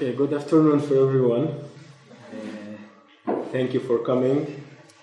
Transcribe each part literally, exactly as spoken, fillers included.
Okay, good afternoon for everyone. Uh, thank you for coming,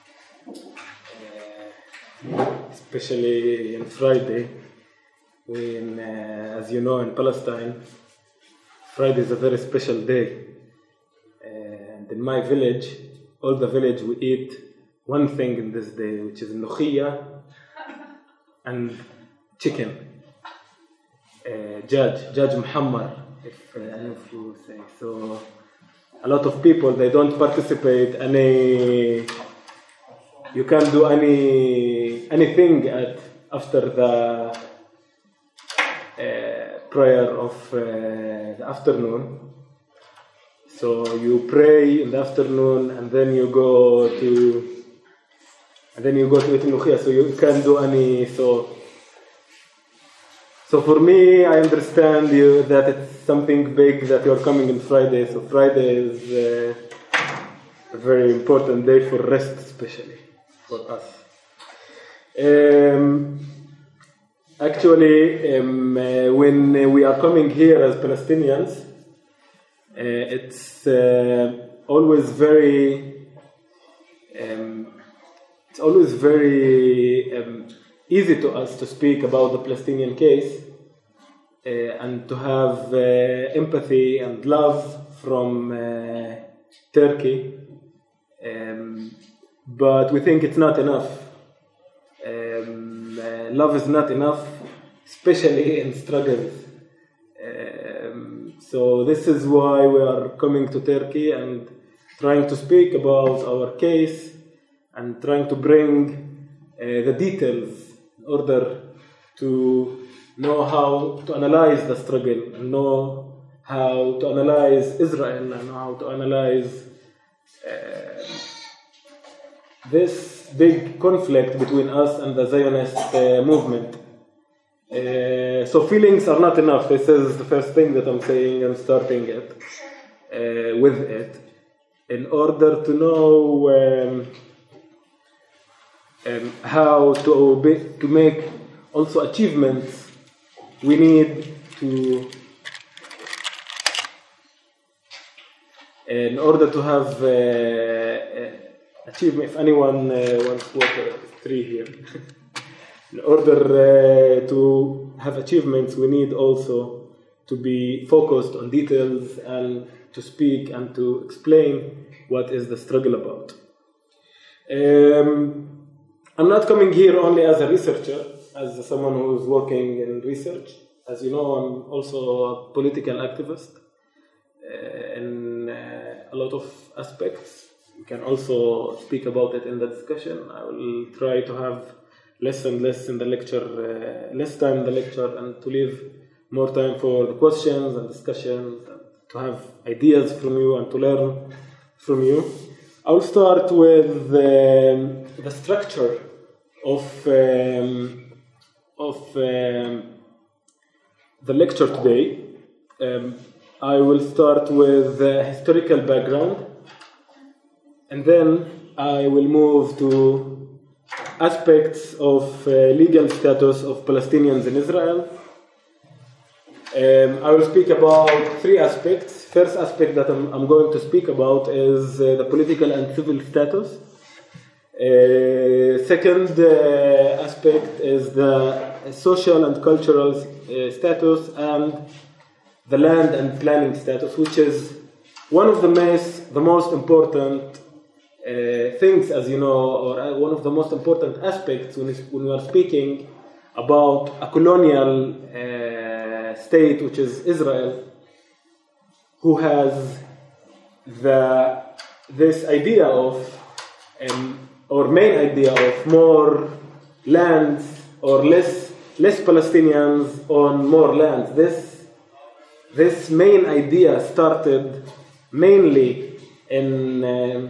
uh, especially on Friday, when, uh, as you know, in Palestine, Friday is a very special day. Uh, and in my village, all the village, we eat one thing in this day, which is nukhiyya and chicken. Uh, Judge, Judge Muhammad. If, uh, if you say so, a lot of people, they don't participate any. You can't do any anything at after the uh, prayer of uh, the afternoon. So you pray in the afternoon, and then you go to, and then you go to eat nukhiyya. So you can't do any so. So for me, I understand you that it's something big that you're coming on Friday. So Friday is uh, a very important day for rest, especially for us. Um, actually, um, uh, when uh, we are coming here as Palestinians, uh, it's uh, always very, um, it's always very. Um, easy to us to speak about the Palestinian case uh, and to have uh, empathy and love from uh, Turkey, um, but we think it's not enough. Um, uh, love is not enough, especially in struggles. Um, so this is why we are coming to Turkey and trying to speak about our case and trying to bring uh, the details in order to know how to analyze the struggle, and know how to analyze Israel, and how to analyze uh, this big conflict between us and the Zionist uh, movement. Uh, so feelings are not enough. This is the first thing that I'm saying. I'm starting it uh, with it in order to know um, Um, how to be, to make also achievements. We need to, in order to have uh, uh, achievement. If anyone uh, wants water, three here. In order uh, to have achievements, we need also to be focused on details and to speak and to explain what is the struggle about. Um, I'm not coming here only as a researcher, as someone who is working in research. As you know, I'm also a political activist uh, in uh, a lot of aspects. We can also speak about it in the discussion. I will try to have less and less in the lecture, uh, less time in the lecture, and to leave more time for the questions and discussions, and to have ideas from you and to learn from you. I'll start with um, the structure of um, of um, the lecture today. Um, I will start with the historical background, and then I will move to aspects of uh, legal status of Palestinians in Israel. Um, I will speak about three aspects. First aspect that I'm, I'm going to speak about is uh, the political and civil status. Uh, second uh, aspect is the social and cultural uh, status, and the land and planning status, which is one of the most, the most important uh, things, as you know, or one of the most important aspects when, when we are speaking about a colonial uh, state, which is Israel, who has the this idea of um, or main idea of more lands or less less Palestinians on more lands. This this main idea started mainly in um,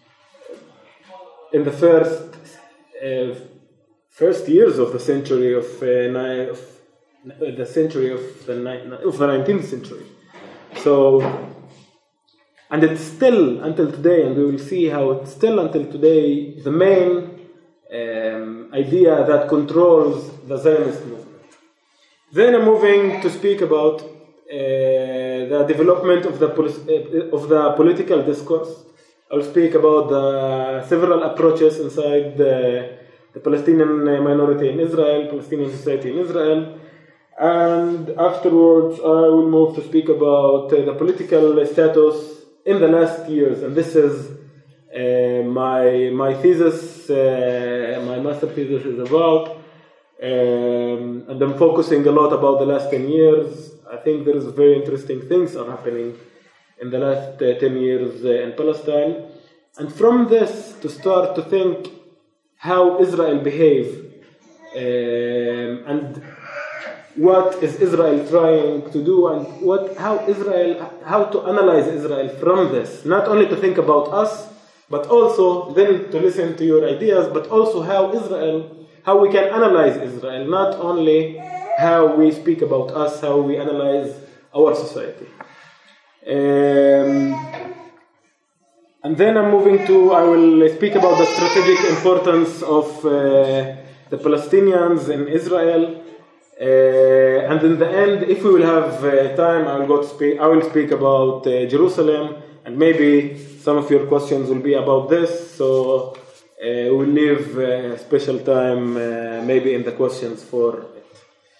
in the first uh, first years of the century of, uh, ni- of the century of the ni- of the nineteenth century. So. And it's still until today, and we will see how it's still until today the main um, idea that controls the Zionist movement. Then I'm moving to speak about uh, the development of the poli- uh, of the political discourse. I'll speak about the several approaches inside the, the Palestinian minority in Israel, Palestinian society in Israel, and afterwards I will move to speak about uh, the political status in the last years, and this is uh, my my thesis, uh, my master thesis is about, um, and I'm focusing a lot about the last ten years. I think there is very interesting things are happening in the last uh, ten years uh, in Palestine, and from this to start to think how Israel behave um, and what is Israel trying to do, and what how Israel how to analyze Israel from this, not only to think about us, but also then to listen to your ideas, but also how Israel how we can analyze Israel, not only how we speak about us, how we analyze our society. Um, and then I'm moving to, I will speak about the strategic importance of uh, the Palestinians in Israel. Uh, and in the end, if we will have uh, time, I will go to speak. I will speak about uh, Jerusalem, and maybe some of your questions will be about this. So uh, we'll leave uh, special time, uh, maybe in the questions for it.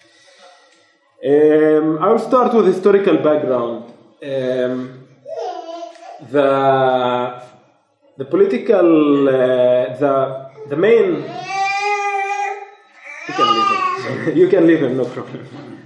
Um, I will start with historical background. Um, the the political uh, the the main you can leave him you can leave him no problem.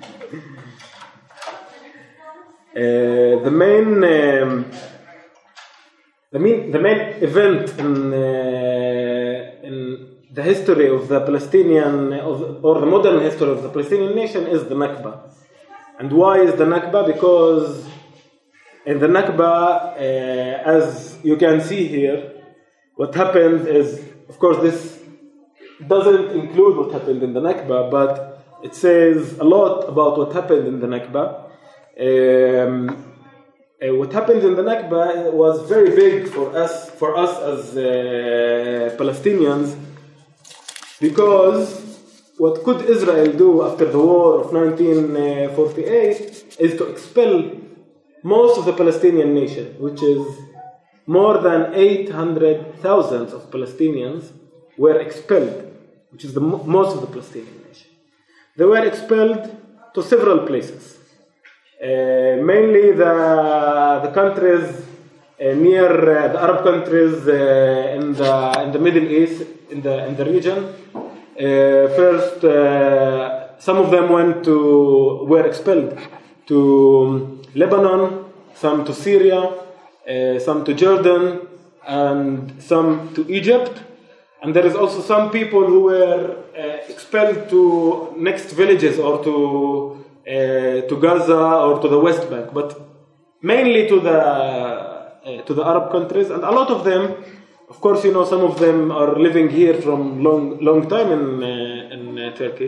Uh, the main um, the main the main event in uh, in the history of the Palestinian of, or the modern history of the Palestinian nation is the Nakba. And why is the Nakba? Because in the Nakba, uh, as you can see here, what happened is, of course, this doesn't include what happened in the Nakba, but it says a lot about what happened in the Nakba. Um, uh, what happened in the Nakba was very big for us, for us as uh, Palestinians, because what could Israel do after the war of nineteen forty-eight is to expel most of the Palestinian nation, which is more than eight hundred thousand of Palestinians were expelled, which is the mo- most of the Palestinian nation. They were expelled to several places, uh, mainly the the countries uh, near uh, the Arab countries uh, in the in the Middle East, in the in the region. Uh, first, uh, some of them went to were expelled to Lebanon, some to Syria, uh, some to Jordan, and some to Egypt. And there is also some people who were uh, expelled to next villages or to uh, to Gaza or to the West Bank, but mainly to the uh, to the Arab countries. And a lot of them, of course, you know, some of them are living here from long long time in uh, in uh, Turkey.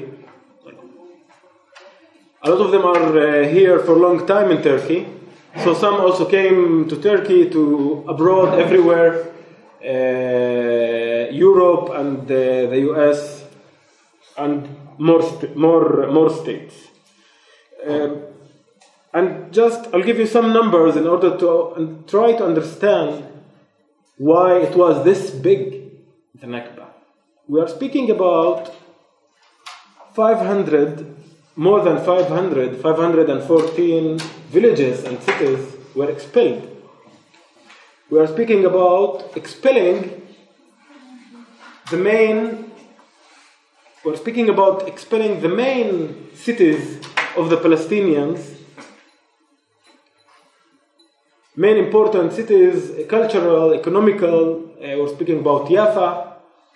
A lot of them are uh, here for a long time in Turkey. So some also came to Turkey, to abroad, everywhere, uh, Europe and uh, the U S and more st- more more states. Um, and just I'll give you some numbers in order to and try to understand why it was this big, the Nakba. We are speaking about five hundred. More than five hundred, five hundred fourteen villages and cities were expelled. We are speaking about expelling the main, we're speaking about expelling the main cities of the Palestinians, main important cities, cultural, economical. Uh, we're speaking about Jaffa, uh,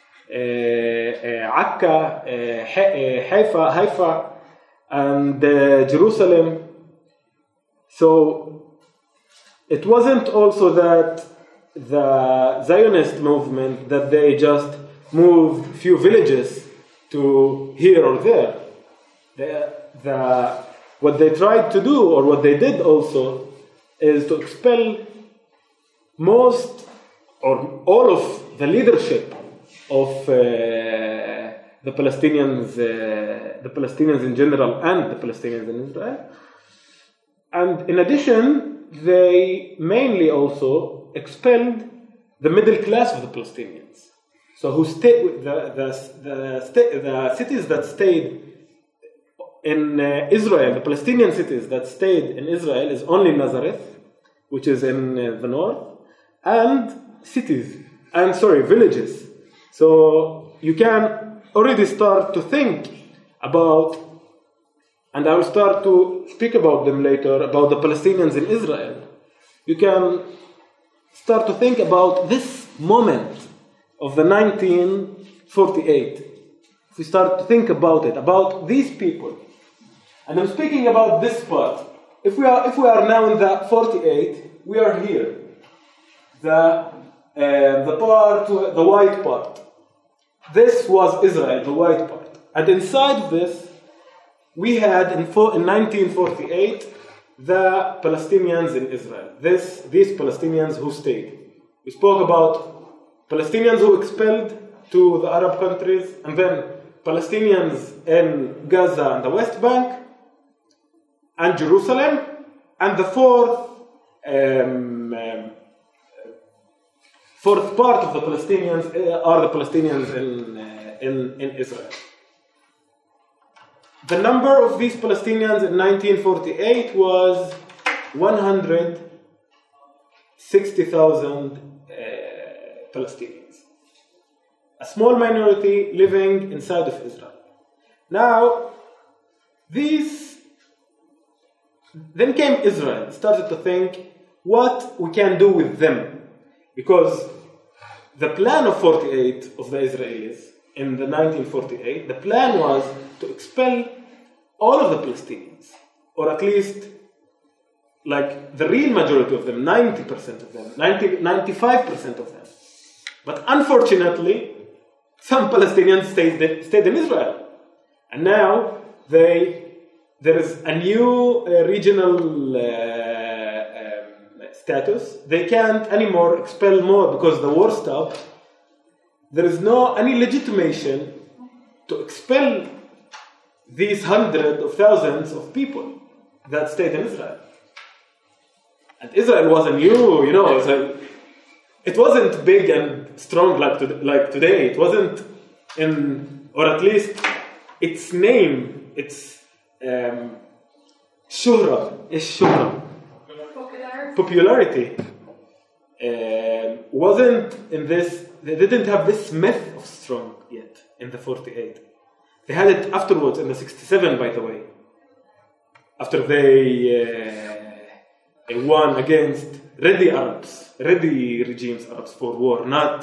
uh, Akka, uh, Haifa, Haifa, and uh, Jerusalem. So it wasn't also that the Zionist movement that they just moved few villages to here or there. The, the, what they tried to do, or what they did also, is to expel most or all of the leadership of uh, the Palestinians, uh, the Palestinians in general, and the Palestinians in Israel, And in addition, they mainly also expelled the middle class of the Palestinians. So who stayed, the, the, the, sta- the cities that stayed in uh, Israel, the Palestinian cities that stayed in Israel is only Nazareth, which is in uh, the north, and cities, and sorry, villages. So you can already start to think about, and I will start to speak about them later, about the Palestinians in Israel. You can start to think about this moment of the nineteen forty-eight. If we start to think about it, about these people, and I'm speaking about this part. If we are, if we are now in the forty-eight, we are here. The uh, the part, the white part. This was Israel, the white part, and inside of this, we had in, four, in nineteen forty-eight the Palestinians in Israel. This these Palestinians who stayed. We spoke about Palestinians who expelled to the Arab countries, and then Palestinians in Gaza and the West Bank, and Jerusalem, and the fourth um, um, fourth part of the Palestinians uh, are the Palestinians in, uh, in, in Israel. The number of these Palestinians in nineteen forty-eight was one hundred sixty thousand uh, Palestinians. A small minority living inside of Israel. Now, these, then came Israel, started to think what we can do with them. Because the plan of forty-eight of the Israelis in the nineteen forty-eight, the plan was to expel all of the Palestinians, or at least like the real majority of them, ninety percent of them, ninety, ninety-five percent of them. But unfortunately, some Palestinians stayed, stayed in Israel. And now they, there is a new uh, regional uh, um, status. They can't anymore expel more because the war stopped. There is no any legitimation to expel these hundreds of thousands of people that stayed in Israel. And Israel was a new, you know, it, was a, it wasn't big and strong like, to, like today. It wasn't in, or at least its name, its um, shuhra, is shuhra, popularity, popularity uh, wasn't in this, they didn't have this myth of strong yet in the forty-eight. They had it afterwards in the sixty-seven, by the way, after they uh, they won against ready Arabs, ready regimes Arabs for war, not.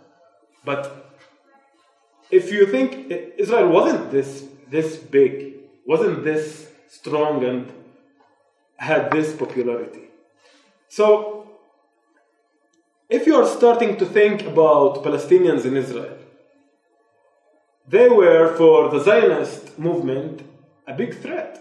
But if you think Israel wasn't this this big, wasn't this strong and had this popularity. So if you are starting to think about Palestinians in Israel, they were, for the Zionist movement, a big threat.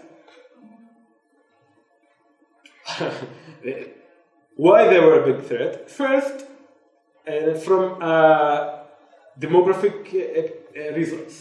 Why they were a big threat? First, uh, from uh, demographic uh, uh, reasons.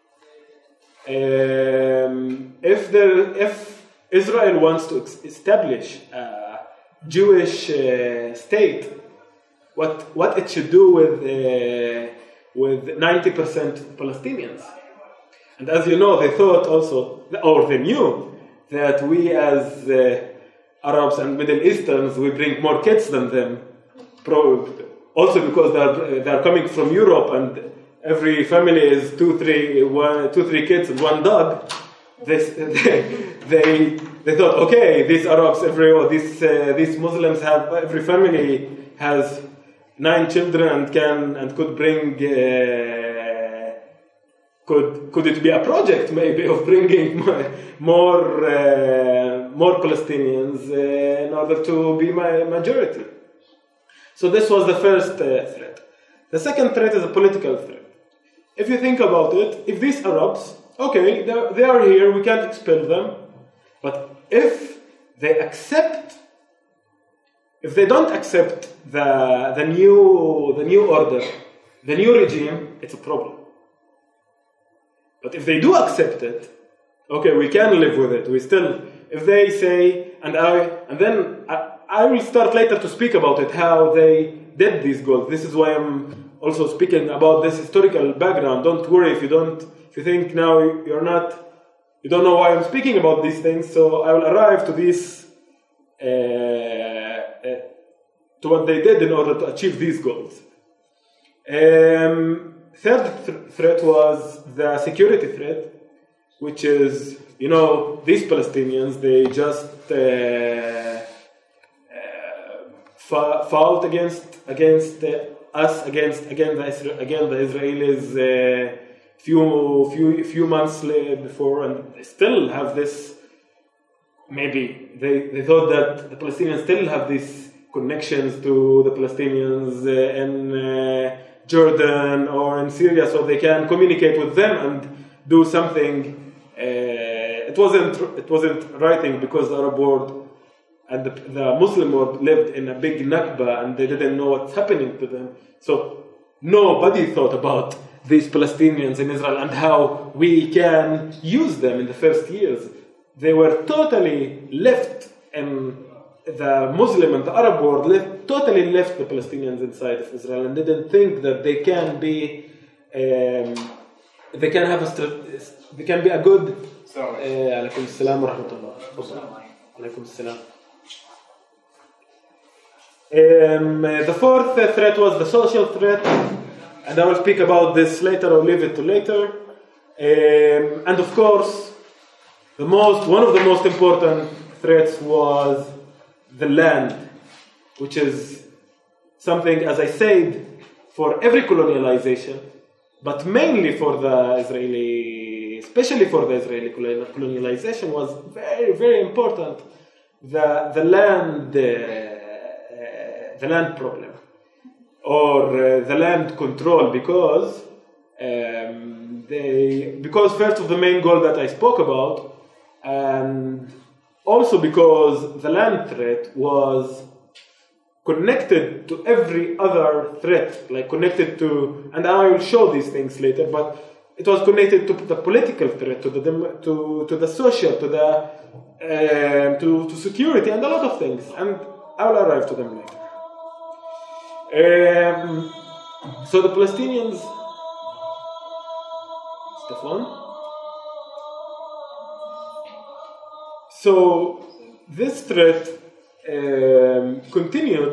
Um, if, there, if Israel wants to ex- establish a Jewish uh, state, what, what it should do with uh, with ninety percent Palestinians. And as you know, they thought also, or they knew, that we as uh, Arabs and Middle Easterns, we bring more kids than them. Also because they are, they are coming from Europe and every family is two, three, one, two, three kids and one dog. They, they, they, they thought, okay, these Arabs, every, or these, uh, these Muslims have, every family has nine children and can and could bring uh, could could it be a project maybe of bringing more uh, more Palestinians uh, in order to be my majority. So this was the first uh, threat. The second threat is a political threat. If you think about it, if these Arabs, okay, they are here, we can't expel them, but if they accept. If they don't accept the the new the new order, the new regime, it's a problem. But if they do accept it, okay, we can live with it. We still, if they say and I, and then I, I will start later to speak about it, how they did these goals. This is why I'm also speaking about this historical background. Don't worry if you don't, if you think now you're not, you don't know why I'm speaking about these things. So I will arrive to this, uh, uh, to what they did in order to achieve these goals. Um, third th- threat was the security threat, which is, you know, these Palestinians, they just uh, uh, fa- fought against against uh, us, against again the Isra- again the Israelis uh, few few few months before, and they still have this. Maybe they, they thought that the Palestinians still have these connections to the Palestinians uh, in uh, Jordan or in Syria, so they can communicate with them and do something. Uh, it wasn't it wasn't writing because the Arab world and the, the Muslim world lived in a big Nakba and they didn't know what's happening to them. So nobody thought about these Palestinians in Israel and how we can use them in the first years. They were totally left, and the Muslim and the Arab world left, totally left the Palestinians inside of Israel and didn't think that they can be um, they can have a they can be a good. عليكم السلام ورحمة الله. عليكم السلام. Um, the fourth threat was the social threat, and I will speak about this later. I'll leave it to later. Um, and of course, the most one of the most important threats was the land, which is something, as I said, for every colonialization, but mainly for the Israeli, especially for the Israeli colonialization, was very, very important. The the land, uh, uh, the land problem, or uh, the land control, because um, they because first of the main goal that I spoke about, and also because the land threat was connected to every other threat, like connected to, and I will show these things later, but it was connected to the political threat, to the to to the social, to the uh, to to security, and a lot of things, and I will arrive to them later. Um, so the Palestinians, Stefan. So this threat um, continued.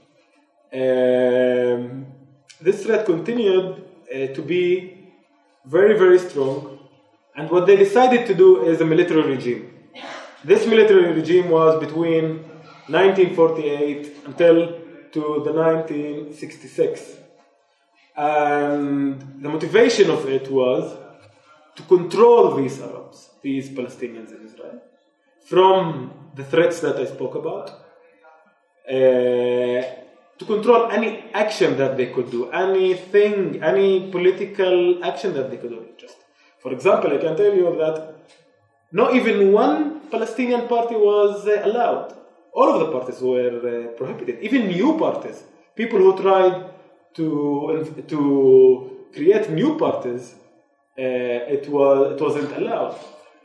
Um, this threat continued uh, to be very, very strong, and what they decided to do is a military regime. This military regime was between nineteen forty-eight until to the nineteen sixty-six, and the motivation of it was to control these Arabs, these Palestinians in Israel, from the threats that I spoke about, uh, to control any action that they could do, anything, any political action that they could do. Just, for example, I can tell you that not even one Palestinian party was uh, allowed. All of the parties were uh, prohibited. Even new parties, people who tried to to create new parties, uh, it was it wasn't allowed.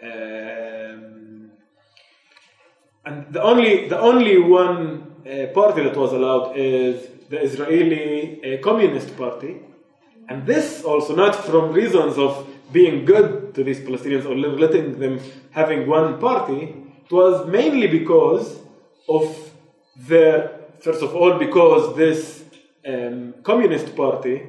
Um, and the only the only one uh, party that was allowed is the Israeli uh, Communist Party, and this also not from reasons of being good to these Palestinians or letting them having one party. It was mainly because of their, first of all, because this um, Communist Party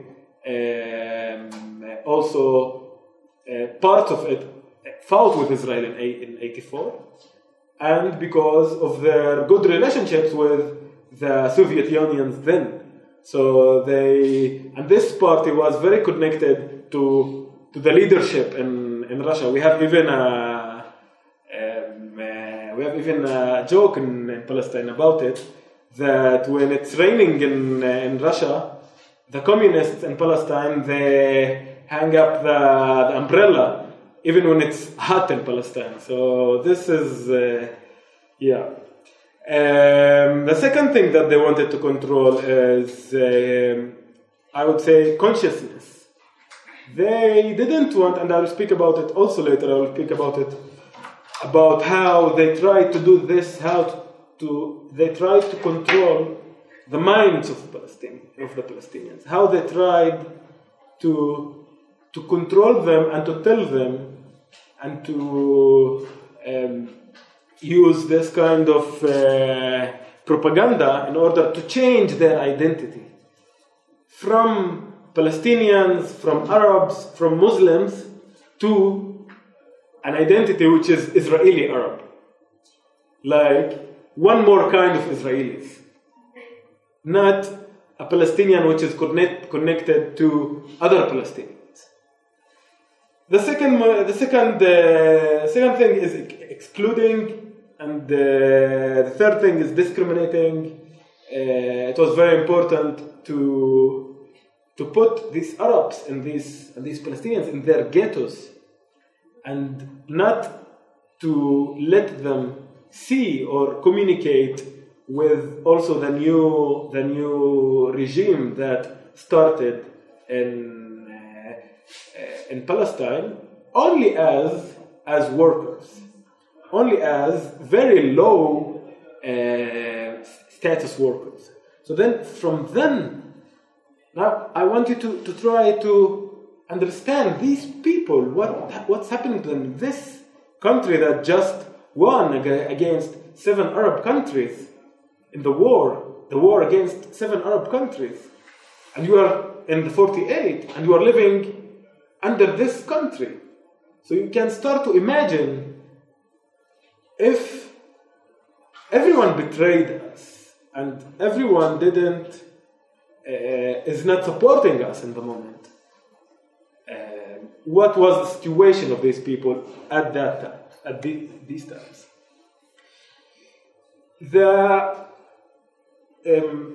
um, also uh, part of it fought with Israel in, in eighty-four, and because of their good relationships with the Soviet Union then. So they, and this party was very connected to to the leadership in, in Russia. We have even a um, uh, we have even a joke in, in Palestine about it, that when it's raining in uh, in Russia, the communists in Palestine, they hang up the, the umbrella even when it's hot in Palestine. So this is uh, yeah. Um, the second thing that they wanted to control is uh, I would say consciousness. They didn't want, and I will speak about it also later, I will speak about it about how they tried to do this, how to, to they tried to control the minds of Palestine, of the Palestinians, how they tried to to control them and to tell them and to um, use this kind of uh, propaganda in order to change their identity from Palestinians, from Arabs, from Muslims to an identity which is Israeli Arab, like one more kind of Israelis, not a Palestinian which is connect, connected to other Palestinians. The second, the second, uh, second thing is excluding, and uh, the third thing is discriminating. Uh, it was very important to to put these Arabs and these and these Palestinians in their ghettos, and not to let them see or communicate with also the new the new regime that started in uh, in Palestine only as as workers, only as very low uh, status workers. So then, from then, now I want you to, to try to understand these people, what what's happening to them in this country that just won against seven Arab countries in the war, the war against seven Arab countries, and you are in the forty-eight, and you are living under this country. So you can start to imagine if everyone betrayed us and everyone didn't uh, is not supporting us in the moment. Uh, what was the situation of these people at that time, at the, these times? The um,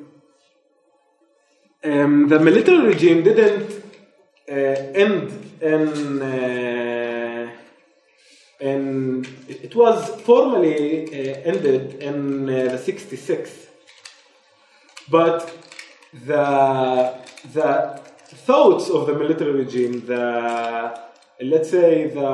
um, the military regime didn't uh, end in. Uh, And it was formally uh, ended in uh, the sixty-six, but the the thoughts of the military regime, the let's say the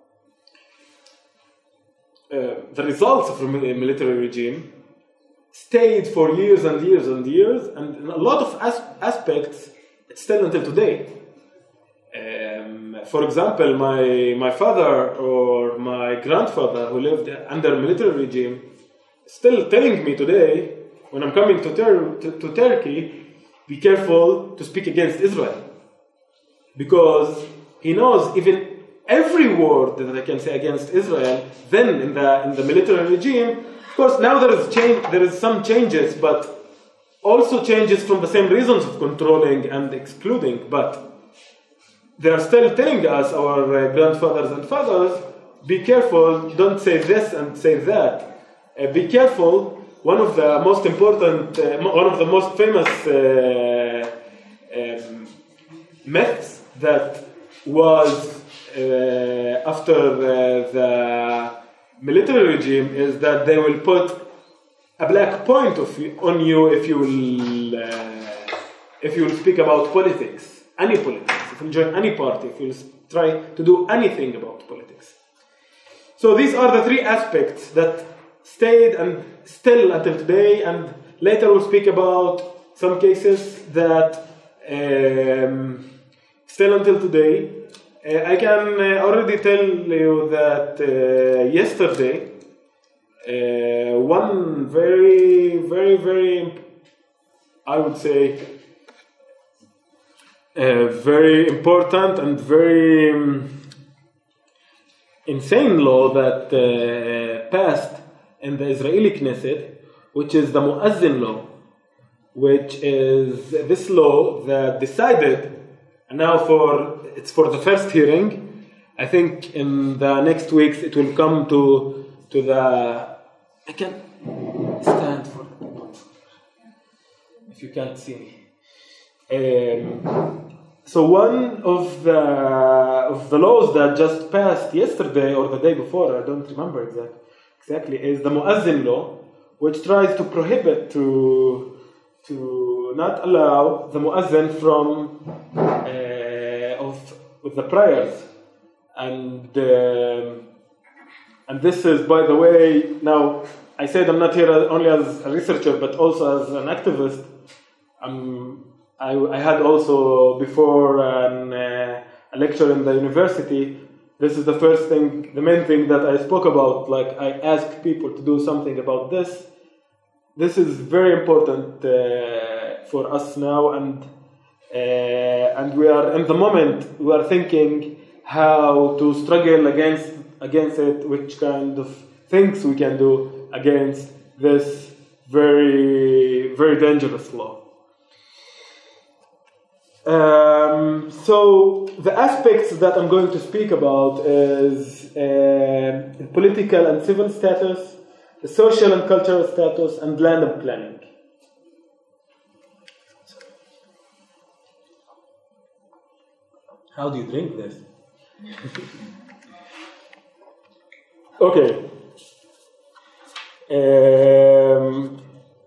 uh, the results of the military regime stayed for years and years and years, and in a lot of as- aspects it's still until today. Um, for example, my my father or my grandfather who lived under military regime still telling me today, when I'm coming to, ter- to, to Turkey, be careful to speak against Israel, because he knows even every word that I can say against Israel. Then in the in the military regime, of course, now there is change, there is some changes, but also changes from the same reasons of controlling and excluding, but they are still telling us, our uh, grandfathers and fathers, be careful, don't say this and say that. Uh, be careful, one of the most important, uh, one of the most famous uh, um, myths that was uh, after uh, the military regime is that they will put a black point of you, on you if you will, uh, if you will speak about politics, any politics. If you join any party, if you try to do anything about politics. So these are the three aspects that stayed and still until today, and later we'll speak about some cases that um, still until today. Uh, I can uh, already tell you that uh, yesterday, uh, one very, very, very, I would say, Uh, very important and very um, insane law that uh, passed in the Israeli Knesset, which is the Mu'azzin law, which is this law that decided, and now for it's for the first hearing. I think in the next weeks it will come to to the. I can stand for if you can't see me. Um, so one of the of the laws that just passed yesterday or the day before, I don't remember exactly, exactly is the Mu'azzin law, which tries to prohibit to to not allow the Mu'azzin from uh, of with the prayers and um, and this is, by the way, now I said I'm not here only as a researcher, but also as an activist. I'm, I, I had also before an, uh, a lecture in the university. This is the first thing, the main thing that I spoke about. Like, I asked people to do something about this. This is very important uh, for us now, and uh, and we are in the moment. We are thinking how to struggle against against it, which kind of things we can do against this very very dangerous law. Um, so the aspects that I'm going to speak about is uh, the political and civil status, the social and cultural status, and land and planning. How do you drink this? Okay. Um,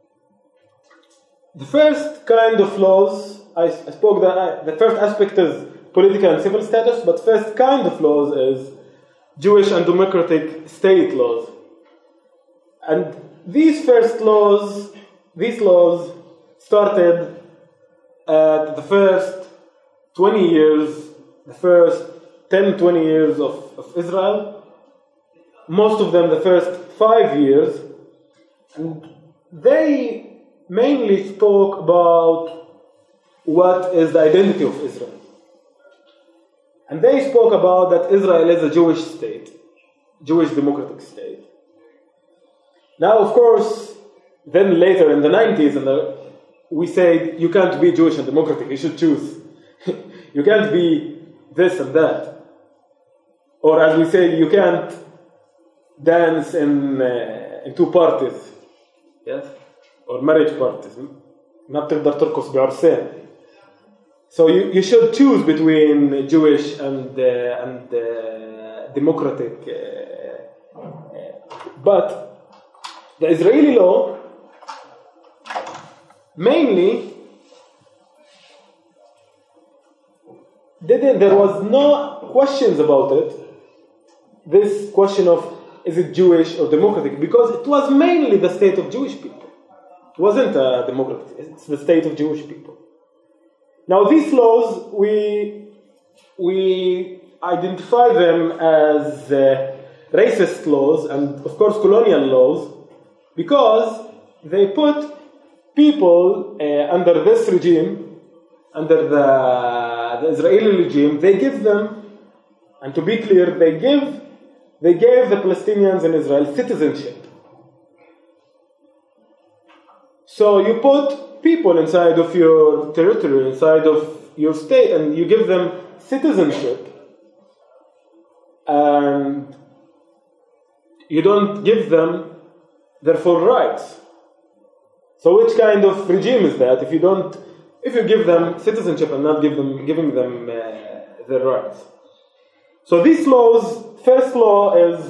the first kind of laws, I, I spoke that I, the first aspect is political and civil status, but first kind of laws is Jewish and democratic state laws. And these first laws, these laws started at the first twenty years, the first ten, twenty years of, of Israel, most of them the first five years, and they mainly spoke about what is the identity of Israel. And they spoke about that Israel is a Jewish state, Jewish democratic state. Now, of course, then later in the nineties, and we said you can't be Jewish and democratic, you should choose. You can't be this and that. Or as we say, you can't dance in, uh, in two parties. Yes? Or marriage parties. ما بتقدر ترقص بعرسين. So you, you should choose between Jewish and uh, and uh, democratic. Uh, uh, but the Israeli law mainly didn't. There was no questions about it. This question of is it Jewish or democratic, because it was mainly the state of Jewish people. It wasn't a democratic. It's the state of Jewish people. Now these laws, we we identify them as uh, racist laws and of course colonial laws, because they put people uh, under this regime, under the, the Israeli regime. They give them, and to be clear, they give they gave the Palestinians in Israel citizenship. So you put people inside of your territory, inside of your state, and you give them citizenship, and you don't give them their full rights. So which kind of regime is that if you don't, if you give them citizenship and not give them, giving them uh, their rights? So these laws, first law is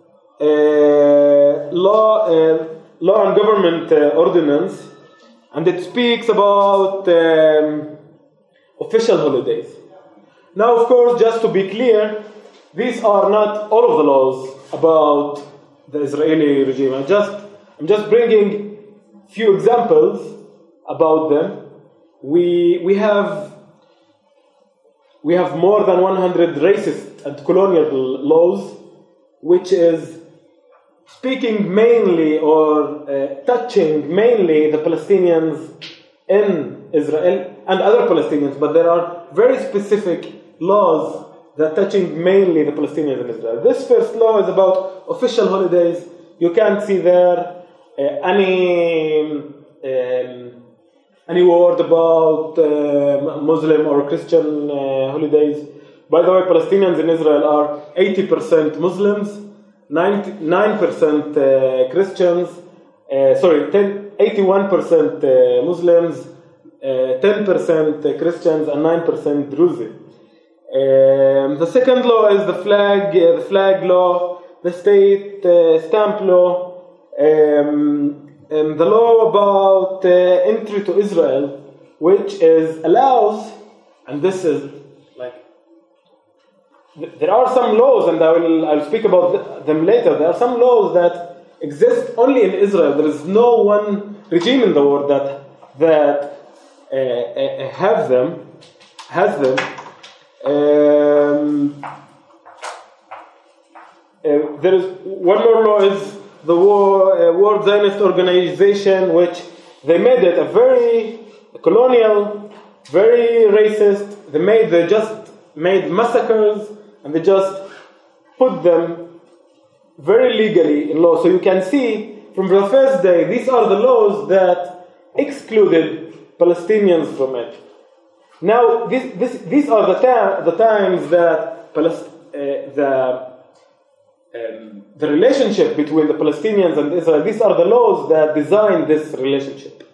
uh, law, uh, law and government uh, ordinance, and it speaks about um, official holidays. Now, of course, just to be clear, these are not all of the laws about the Israeli regime. I'm just, I'm just bringing few examples about them. We we have we have more than one hundred racist and colonial laws, which is speaking mainly or uh, touching mainly the Palestinians in Israel and other Palestinians, but there are very specific laws that touching mainly the Palestinians in Israel. This first law is about official holidays. You can't see there uh, any um, any word about uh, Muslim or Christian uh, holidays. By the way, Palestinians in Israel are eighty percent Muslims, ninety-nine percent uh, Christians, uh, sorry, ten, eighty-one percent uh, Muslims, uh, ten percent Christians, and nine percent Druze. Um, the second law is the flag, uh, the flag law, the state uh, stamp law, um, um, the law about uh, entry to Israel, which is allows, and this is like there are some laws, and I will I'll speak about them later. There are some laws that exist only in Israel. There is no one regime in the world that that uh, uh, have them has them. Um, uh, there is one more law is the War, uh, World Zionist Organization, which they made it a very colonial, very racist. They made they just made massacres, and they just put them very legally in law. So you can see from the first day, these are the laws that excluded Palestinians from it. Now, this, this, these are the, ta- the times that Palest- uh, the um, the relationship between the Palestinians and Israel. These are the laws that design this relationship.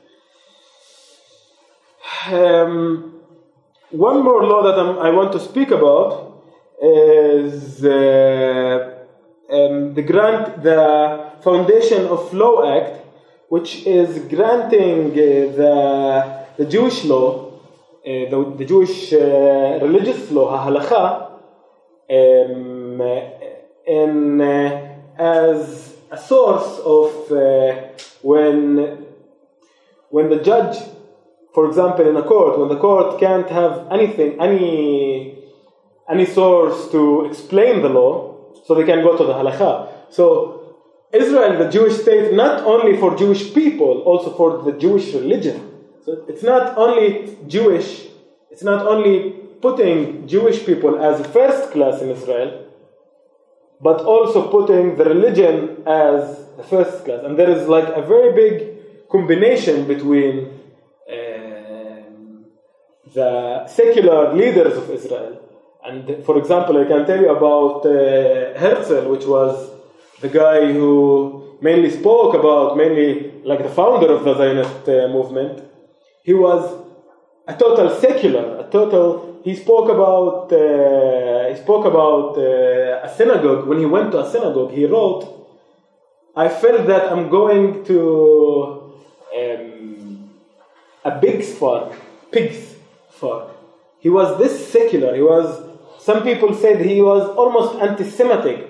Um, one more law that I'm, I want to speak about is uh, um, the grant, the Foundation of Law Act, which is granting uh, the the Jewish law, uh, the, the Jewish uh, religious law, halakha, um, in uh, as a source of uh, when when the judge, for example, in a court, when the court can't have anything, any any source to explain the law, so they can go to the halakha. So Israel, the Jewish state, not only for Jewish people, also for the Jewish religion. So it's not only Jewish, it's not only putting Jewish people as first class in Israel, but also putting the religion as the first class. And there is like a very big combination between um, the secular leaders of Israel. And for example, I can tell you about uh, Herzl, which was the guy who mainly spoke about, mainly like the founder of the Zionist uh, movement. He was a total secular, a total, he spoke about, uh, he spoke about uh, a synagogue. When he went to a synagogue, he wrote, I felt that I'm going to um, a pig's farm, pig's farm. He was this secular, he was, some people said he was almost anti-Semitic.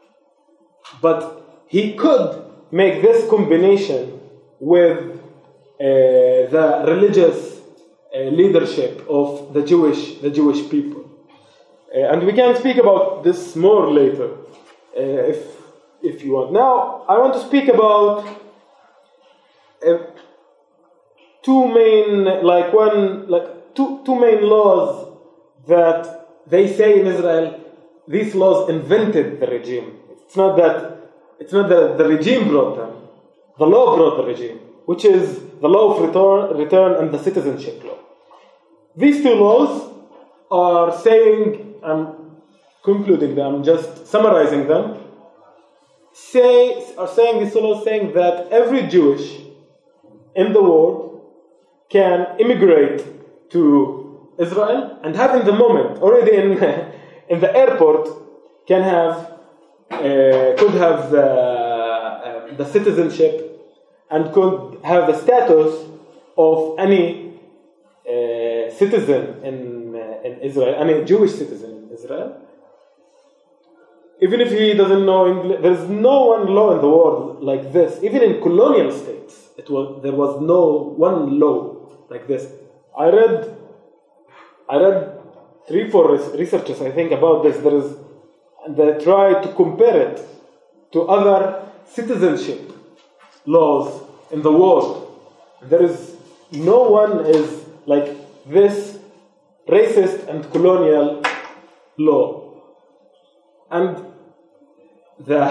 But he could make this combination with uh, the religious uh, leadership of the Jewish, the Jewish people, uh, and we can speak about this more later, uh, if if you want. Now, I want to speak about uh, two main, like one, like two two main laws that they say in Israel. These laws invented the regime. It's not that it's not that the regime brought them. The law brought the regime, which is the law of return, return and the citizenship law. These two laws are saying, I'm concluding them, just summarizing them, say are saying these two laws saying that every Jewish in the world can immigrate to Israel and have in the moment, already in in the airport, can have Uh, could have the, uh, the citizenship and could have the status of any uh, citizen in, uh, in Israel, any Jewish citizen in Israel. Even if he doesn't know English, there is no one law in the world like this. Even in colonial states, it was there was no one law like this. I read, I read three, four researchers, I think, about this. There is And they try to compare it to other citizenship laws in the world. There is no one is like this racist and colonial law. And the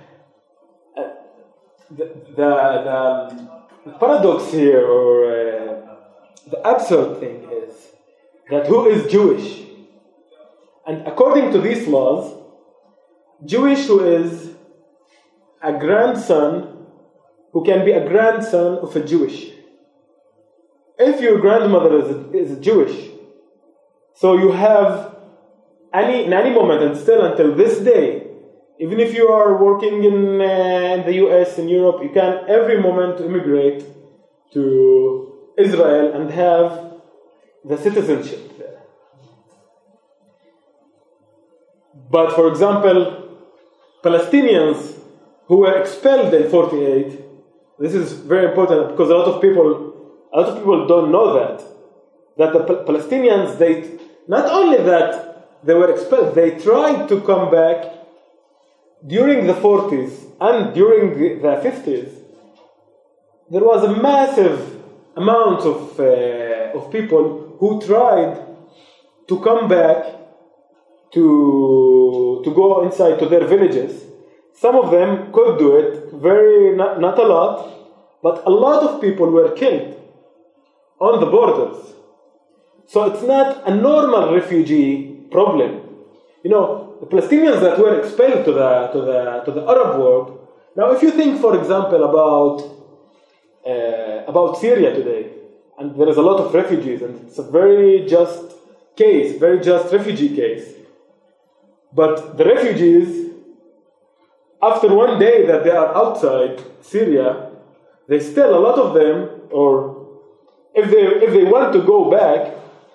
the the, the, the paradox here, or uh, the absurd thing, is that who is Jewish? And according to these laws, Jewish who is a grandson, who can be a grandson of a Jewish. If your grandmother is a, is a Jewish, so you have any in any moment, and still until this day, even if you are working in, uh, in the U S, in Europe, you can every moment immigrate to Israel and have the citizenship there. But for example, Palestinians who were expelled in forty-eight, this is very important because a lot of people, a lot of people don't know that, that the Palestinians, they, not only that they were expelled, they tried to come back during the forties and during the, the fifties. There was a massive amount of, uh, of people who tried to come back to, to go inside to their villages. Some of them could do it, very not, not a lot, but a lot of people were killed on the borders. So it's not a normal refugee problem. You know, the Palestinians that were expelled to the to the to the Arab world. Now, if you think, for example, about uh, about Syria today, and there is a lot of refugees, and it's a very just case, very just refugee case. But the refugees, after one day that they are outside Syria, they still, a lot of them, or if they if they want to go back,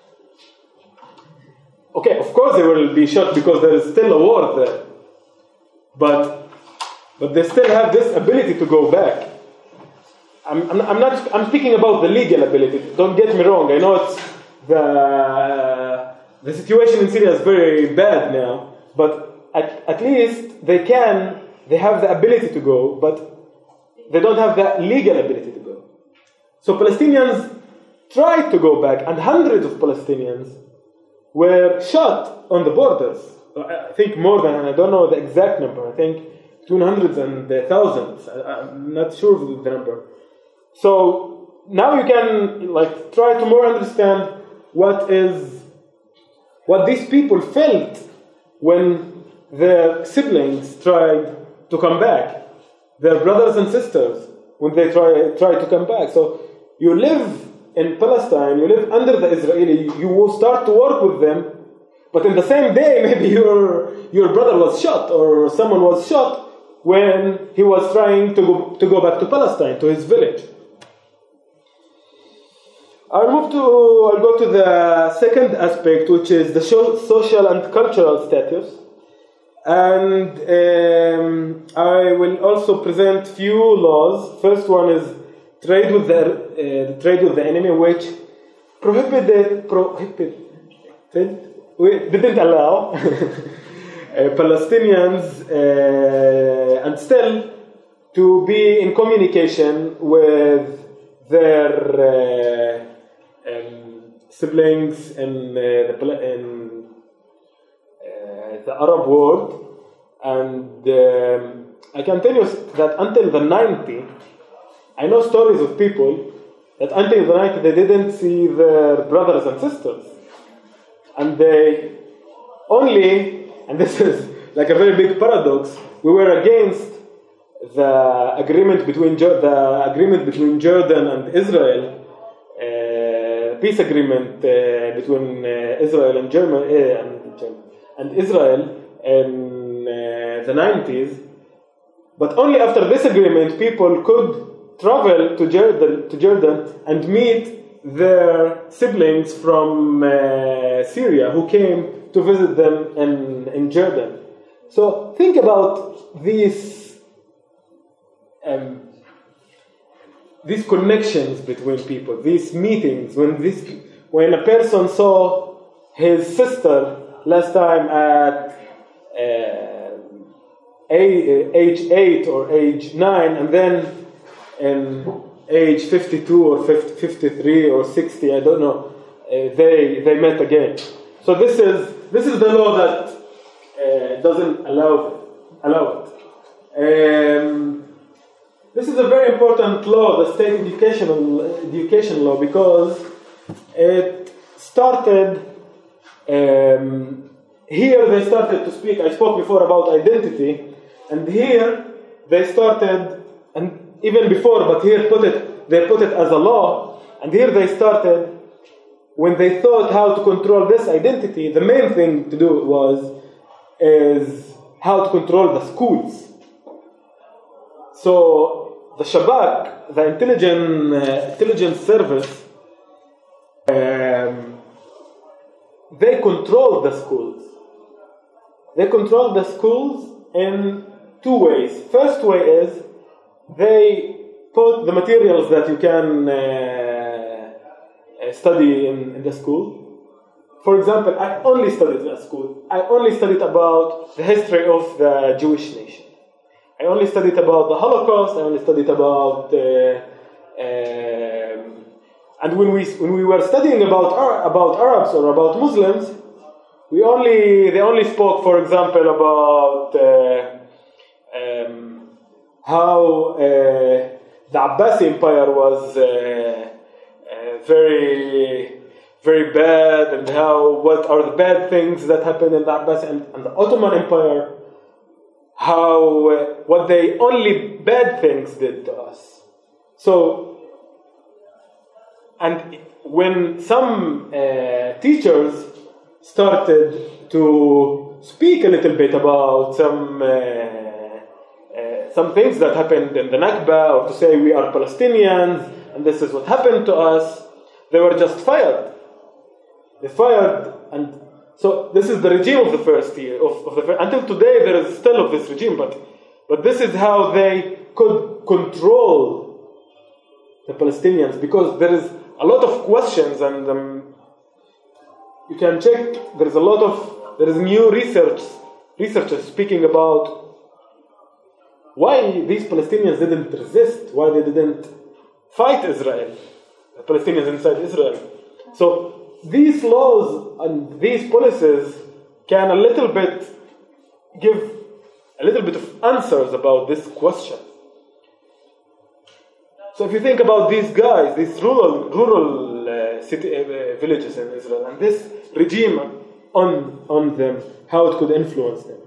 okay, of course they will be shot because there is still a war there. But but they still have this ability to go back. I'm I'm, I'm not I'm speaking about the legal ability. Don't get me wrong. I know it's the uh, the situation in Syria is very bad now, but at at least they can. They have the ability to go, but they don't have the legal ability to go. So Palestinians tried to go back, and hundreds of Palestinians were shot on the borders. I think more than, I don't know the exact number, I think between hundreds and thousands. I'm not sure of the number. So now you can like try to more understand what is, what these people felt when their siblings tried to come back, their brothers and sisters, when they try try to come back. So you live in Palestine, you live under the Israeli, you will start to work with them, but in the same day, maybe your your brother was shot or someone was shot when he was trying to go, to go back to Palestine, to his village. I'll move to, I'll go to the second aspect, which is the social and cultural status. And um, I will also present few laws. First one is trade with the uh, trade with the enemy, which prohibited prohibited didn't allow uh, Palestinians uh, and still to be in communication with their uh, um, siblings in uh, the in the Arab world. And um, I can tell you that until the nineties, I know stories of people that until the nineties they didn't see their brothers and sisters, and they only, and this is like a very big paradox, we were against the agreement between the agreement between Jordan and Israel, uh, peace agreement uh, between uh, Israel and Germany uh, and Germany. and Israel in uh, the nineties, but only after this agreement people could travel to Jordan, to Jordan and meet their siblings from uh, Syria who came to visit them in, in Jordan. So think about these um, these connections between people, these meetings, when this when a person saw his sister last time at uh, age eight or age nine, and then in age fifty-two or fifty-three or sixty, I don't know, uh, they they met again. So this is this is the law that uh, doesn't allow it, allow it. Um, this is a very important law, the state educational education law, because it started. Um, here they started to speak, I spoke before about identity, and here they started, and even before, but here put it, they put it as a law, and here they started, when they thought how to control this identity, the main thing to do was, is how to control the schools. So the Shabak, the intelligence, uh, intelligence service, um, they control the schools. they control the schools in two ways. First way is they put the materials that you can uh, study in, in the school. For example, I only studied at school. I only studied about the history of the Jewish nation. I only studied about the Holocaust. I only studied about, uh, um, and when we when we were studying about about Arabs or about Muslims, we only they only spoke, for example, about uh, um, how uh, the Abbasi Empire was uh, uh, very very bad, and how what are the bad things that happened in the Abbasi and, and the Ottoman Empire. How uh, what they only bad things did to us. So, and when some uh, teachers started to speak a little bit about some uh, uh, some things that happened in the Nakba, or to say we are Palestinians and this is what happened to us, they were just fired. They fired and. So this is the regime of the first year. Of, of the first, until today, there is still of this regime, but but this is how they could control the Palestinians, because there is a lot of questions, and um, you can check. There is a lot of there is new research researchers speaking about why these Palestinians didn't resist, why they didn't fight Israel, the Palestinians inside Israel. So. These laws and these policies can a little bit give a little bit of answers about this question. So if you think about these guys, these rural rural uh, city uh, villages in Israel, and this regime on on them, how it could influence them.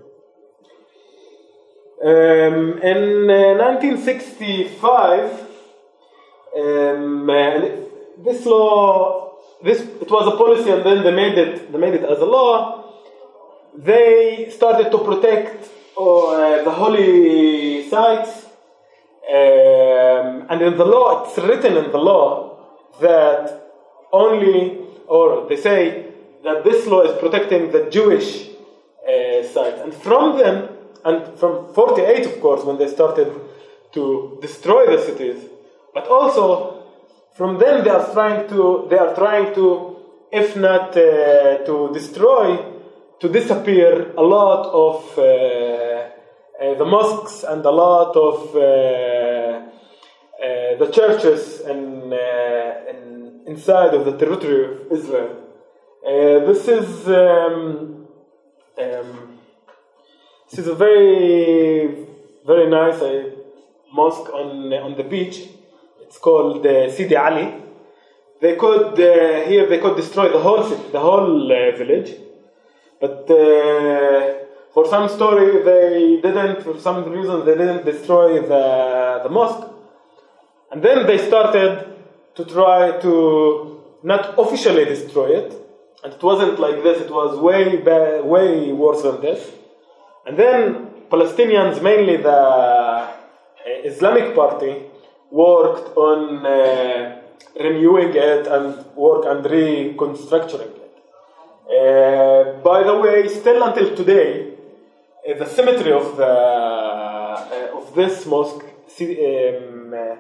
Um, in uh, nineteen sixty-five, um, uh, this law. This it was a policy, and then they made it. They made it as a law. They started to protect uh, the holy sites, um, and in the law, it's written in the law that only, or they say that this law is protecting the Jewish uh, sites, and from them, and from forty-eight, of course, when they started to destroy the cities, but also. From them, they are trying to. They are trying to, if not uh, to destroy, to disappear a lot of uh, uh, the mosques and a lot of uh, uh, the churches in, uh, in inside of the territory of Israel. Uh, this is um, um, this is a very very nice uh, mosque on on the beach. It's called uh, Sidi Ali. They could uh, here they could destroy the whole city, the whole uh, village, but uh, for some story they didn't. For some reason they didn't destroy the the mosque, and then they started to try to not officially destroy it, and it wasn't like this. It was way bad, way worse than this. And then Palestinians, mainly the uh, Islamic Party, worked on uh, renewing it and work and reconstructing it. Uh, by the way, still until today, uh, the cemetery of the uh, of this mosque, um, uh,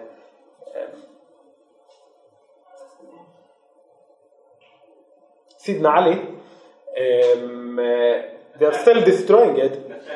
Sidna Ali, um, uh, they are still destroying it.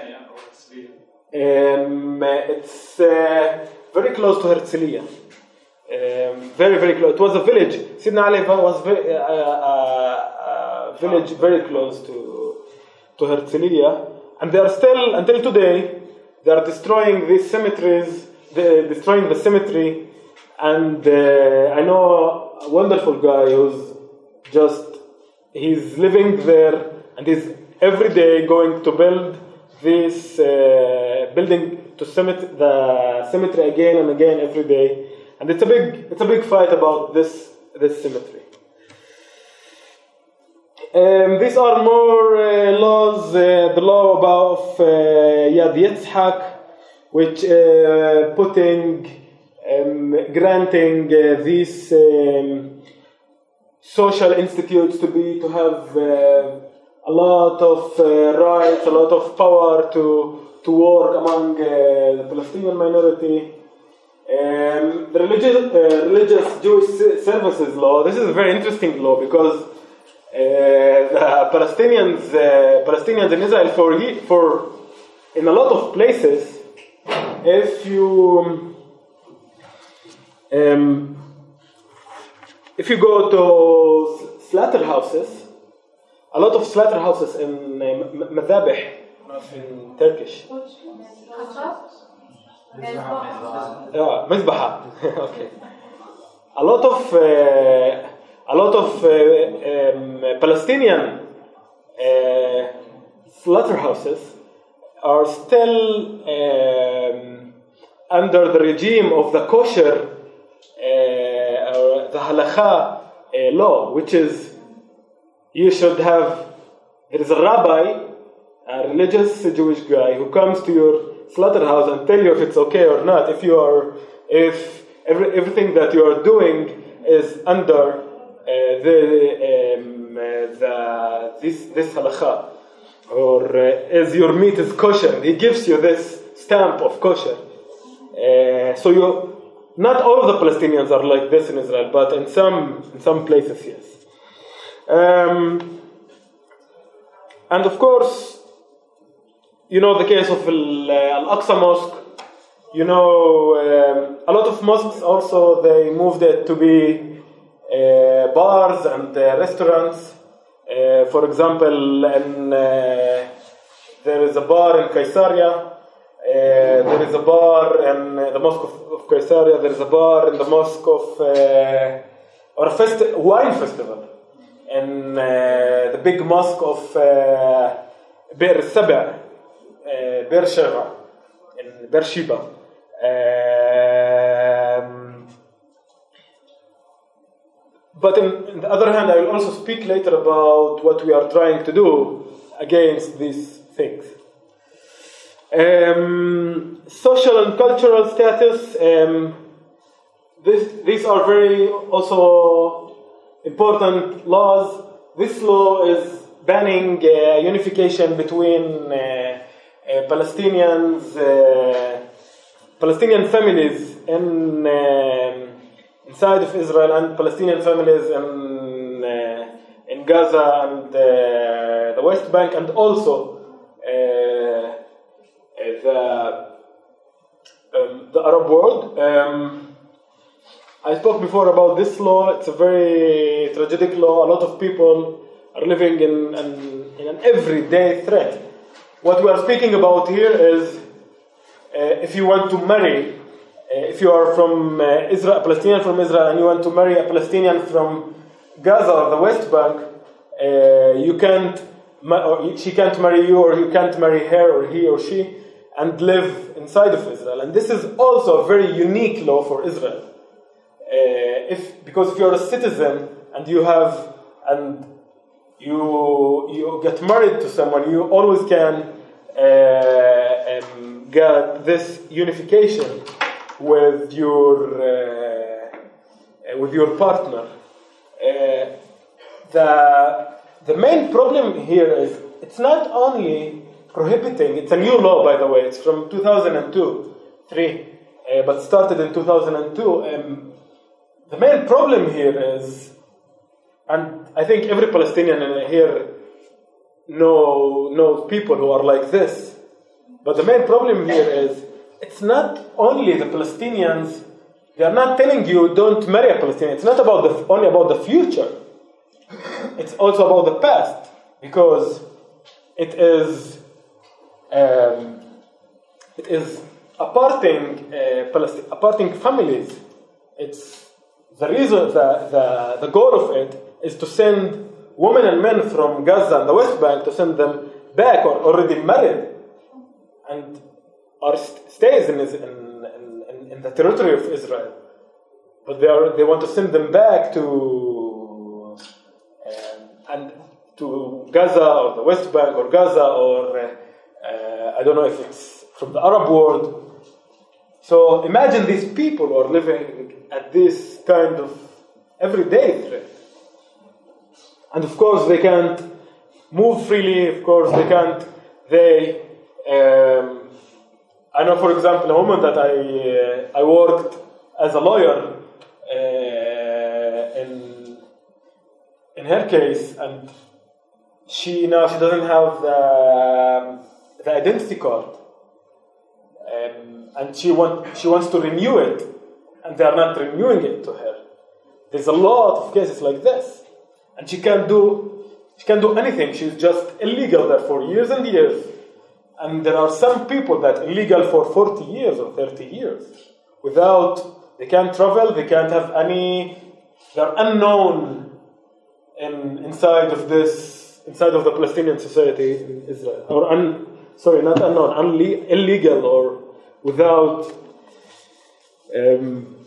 Um, it's uh, very close to Herzliya. Um, very, very close. It was a village. Sidna Ali was very, uh, uh, a village very close to to Herzliya, and they are still, until today, they are destroying these cemeteries. They're destroying the cemetery, and uh, I know a wonderful guy who's just he's living there, and he's every day going to build this uh, building to cemetery, the cemetery again and again every day, and it's a big it's a big fight about this this cemetery. Um, these are more uh, laws. Uh, the law about uh, Yad Yitzhak, which uh, putting um, granting uh, these um, social institutes to be to have uh, a lot of uh, rights, a lot of power to, to work among uh, the Palestinian minority. Um, the religious, uh, religious Jewish services law, this is a very interesting law because uh, the Palestinians, uh, Palestinians in Israel, for, for in a lot of places, if you um, if you go to slaughterhouses, a lot of slaughterhouses in uh, Madhabih, in Turkish. Yeah, Mizbaha. Okay. A lot of uh, a lot of uh, um, Palestinian uh, slaughterhouses are still um, under the regime of the kosher, uh, or the halakha uh, law, which is you should have. There is a rabbi, a religious Jewish guy, who comes to your slaughterhouse and tell you if it's okay or not, if you are, if every, everything that you are doing is under uh, the, um, uh, the this this halakha, or uh, is your meat is kosher. He gives you this stamp of kosher. Uh, so you, not all of the Palestinians are like this in Israel, but in some in some places, yes. Um, and of course, you know the case of Al-Aqsa Mosque. You know, um, a lot of mosques also, they moved it to be uh, bars and uh, restaurants. Uh, for example, in, uh, there is a bar in Caesarea. Uh, there is a bar in uh, the Mosque of, of Caesarea. There is a bar in the Mosque of, uh, or a festi- wine festival in uh, the big mosque of uh, Bir Saba. Uh, Beersheba, in Beersheba. Um, but in, on the other hand, I will also speak later about what we are trying to do against these things. Um, social and cultural status. Um, this, these are very also important laws. This law is banning uh, unification between uh, Uh, Palestinians, uh, Palestinian families in um, inside of Israel and Palestinian families in uh, in Gaza and uh, the West Bank, and also uh, the um, the Arab world. Um, I spoke before about this law. It's a very tragic law. A lot of people are living in in, in an everyday threat. What we are speaking about here is uh, if you want to marry, uh, if you are from uh, Israel, a Palestinian from Israel, and you want to marry a Palestinian from Gaza or the West Bank, uh, you can't, or she can't marry you, or you can't marry her, or he or she, and live inside of Israel. And this is also a very unique law for Israel. Uh, if because if you're a citizen and you have and you you get married to someone, you always can uh, um, get this unification with your uh, with your partner. Uh, the the main problem here is it's not only prohibiting. It's a new law, by the way. It's from two thousand two, three, uh, but started in two thousand two. Um, the main problem here is, and I think every Palestinian here know knows people who are like this. But the main problem here is it's not only the Palestinians. They are not telling you don't marry a Palestinian. It's not about the only about the future. It's also about the past, because it is um, it is aparting uh, Palestine, aparting families. It's the reason the, the the goal of it is to send women and men from Gaza and the West Bank, to send them back or already married and are st- stays in, in, in, in the territory of Israel. But they are they want to send them back to um, and to Gaza or the West Bank or Gaza or uh, uh, I don't know if it's from the Arab world. So imagine these people who are living at this kind of everyday threat. And of course, they can't move freely. Of course, they can't. They, um, I know, for example, a woman that I uh, I worked as a lawyer uh, in in her case, and she now she doesn't have the, the identity card, um, and she want she wants to renew it, and they are not renewing it to her. There's a lot of cases like this, and she can't do she can't do anything. She's just illegal there for years and years. And there are some people that are illegal for forty years or thirty years without, they can't travel, they can't have any, they're unknown in, inside of this, inside of the Palestinian society in Israel. Or, un, sorry, not unknown, unle- illegal or without um,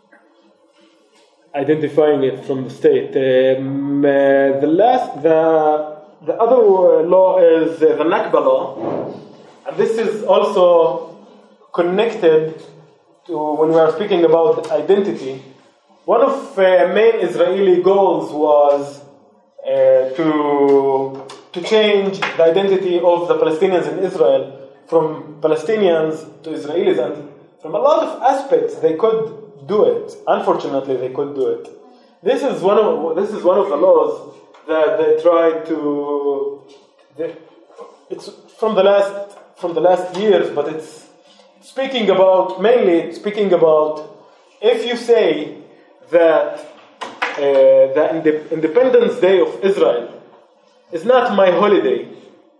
identifying it from the state. Um, uh, the last, the the other law is uh, the Nakba law, and this is also connected to when we are speaking about identity. One of the uh, main Israeli goals was uh, to to change the identity of the Palestinians in Israel from Palestinians to Israelis, and from a lot of aspects they could do it. Unfortunately, they could do it. This is one of this is one of the laws that they tried to. They, it's from the last from the last years, but it's speaking about mainly speaking about if you say that uh, the Independence Day of Israel is not my holiday.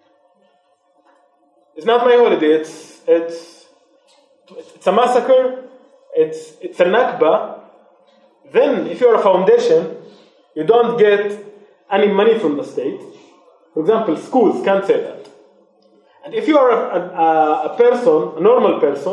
It's not my holiday. It's it's it's a massacre. It's it's a Nakba. Then, if you're a foundation, you don't get any money from the state. For example, schools can't say that. And if you are a, a, a person, a normal person,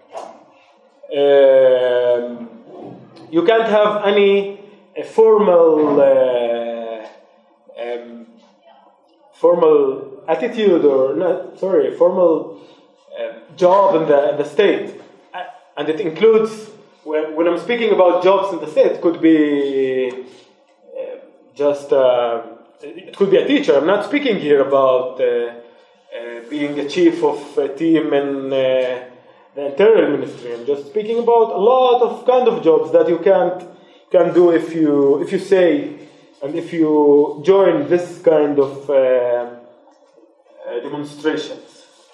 um, you can't have any a formal uh, um, formal attitude or not, sorry, formal uh, job in the in the state, and it includes when when I'm speaking about jobs in the state, it could be uh, just uh, it could be a teacher. I'm not speaking here about uh, uh, being a chief of a team in uh, the Interior Ministry. I'm just speaking about a lot of kind of jobs that you can't can do if you if you say and if you join this kind of uh, uh, demonstrations.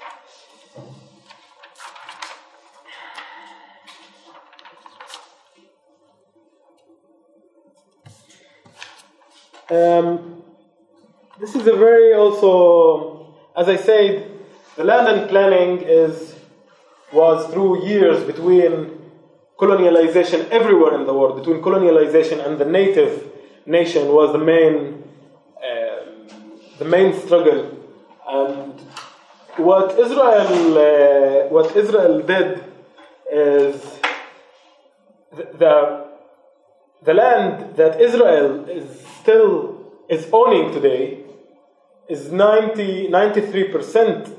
Um, this is a very also, as I said, the land and planning is was through years between colonialization everywhere in the world, between colonialization and the native nation was the main uh, the main struggle. And what Israel uh, what Israel did is the, the the land that Israel is still is owning today is ninety, ninety-three percent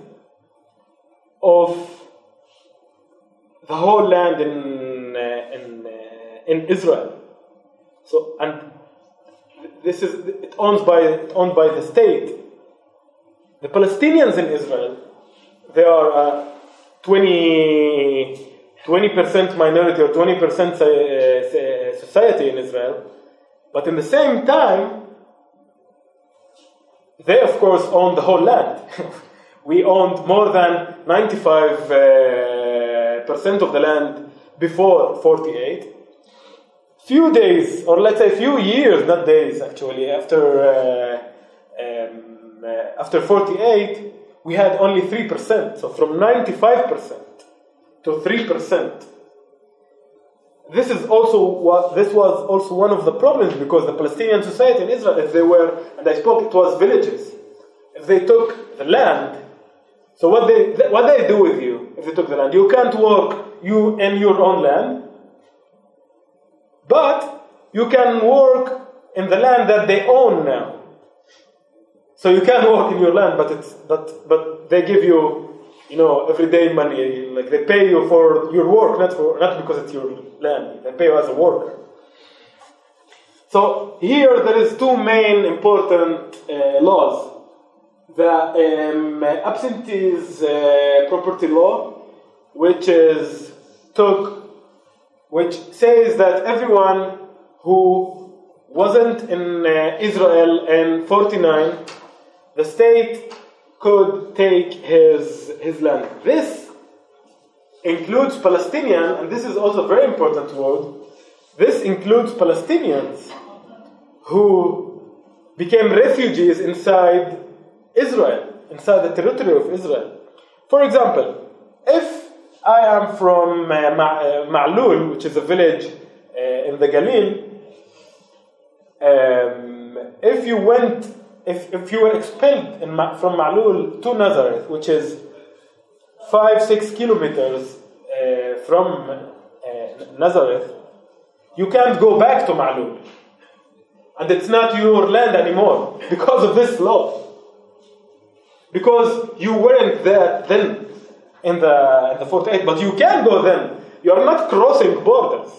of the whole land in uh, in uh, in Israel. So, and this is it owns by owned by the state. The Palestinians in Israel, they are uh, twenty percent minority or twenty percent society in Israel, but in the same time, they of course own the whole land. We owned more than ninety-five percent of the land before forty-eight. Few days, or let's say few years, not days actually, after uh, um, uh, after forty-eight, we had only three percent. So from ninety-five percent to three percent. This is also what this was also one of the problems, because the Palestinian society in Israel, if they were, and I spoke, it was villages. If they took the land, so what they what they do with you if they took the land? You can't work you in your own land, but you can work in the land that they own now. So you can work in your land, but it's but but they give you, you know, everyday money. Like they pay you for your work, not for not because it's your land. They pay you as a worker. So here there is two main important uh, laws. the um, absentees uh, property law, which is took, which says that everyone who wasn't in uh, Israel in forty-nine, the state could take his his land. This includes Palestinian, and this is also a very important word. This includes Palestinians who became refugees inside Israel, inside the territory of Israel. For example, if I am from uh, Ma- uh, Ma'lul, which is a village uh, in the Galil, um, if you went, if, if you were expelled in Ma- from Ma'lul to Nazareth, which is five, six kilometers uh, from uh, Nazareth, you can't go back to Ma'lul. And it's not your land anymore because of this law. Because you weren't there then in the, in the forty-eight, but you can go then. You are not crossing borders.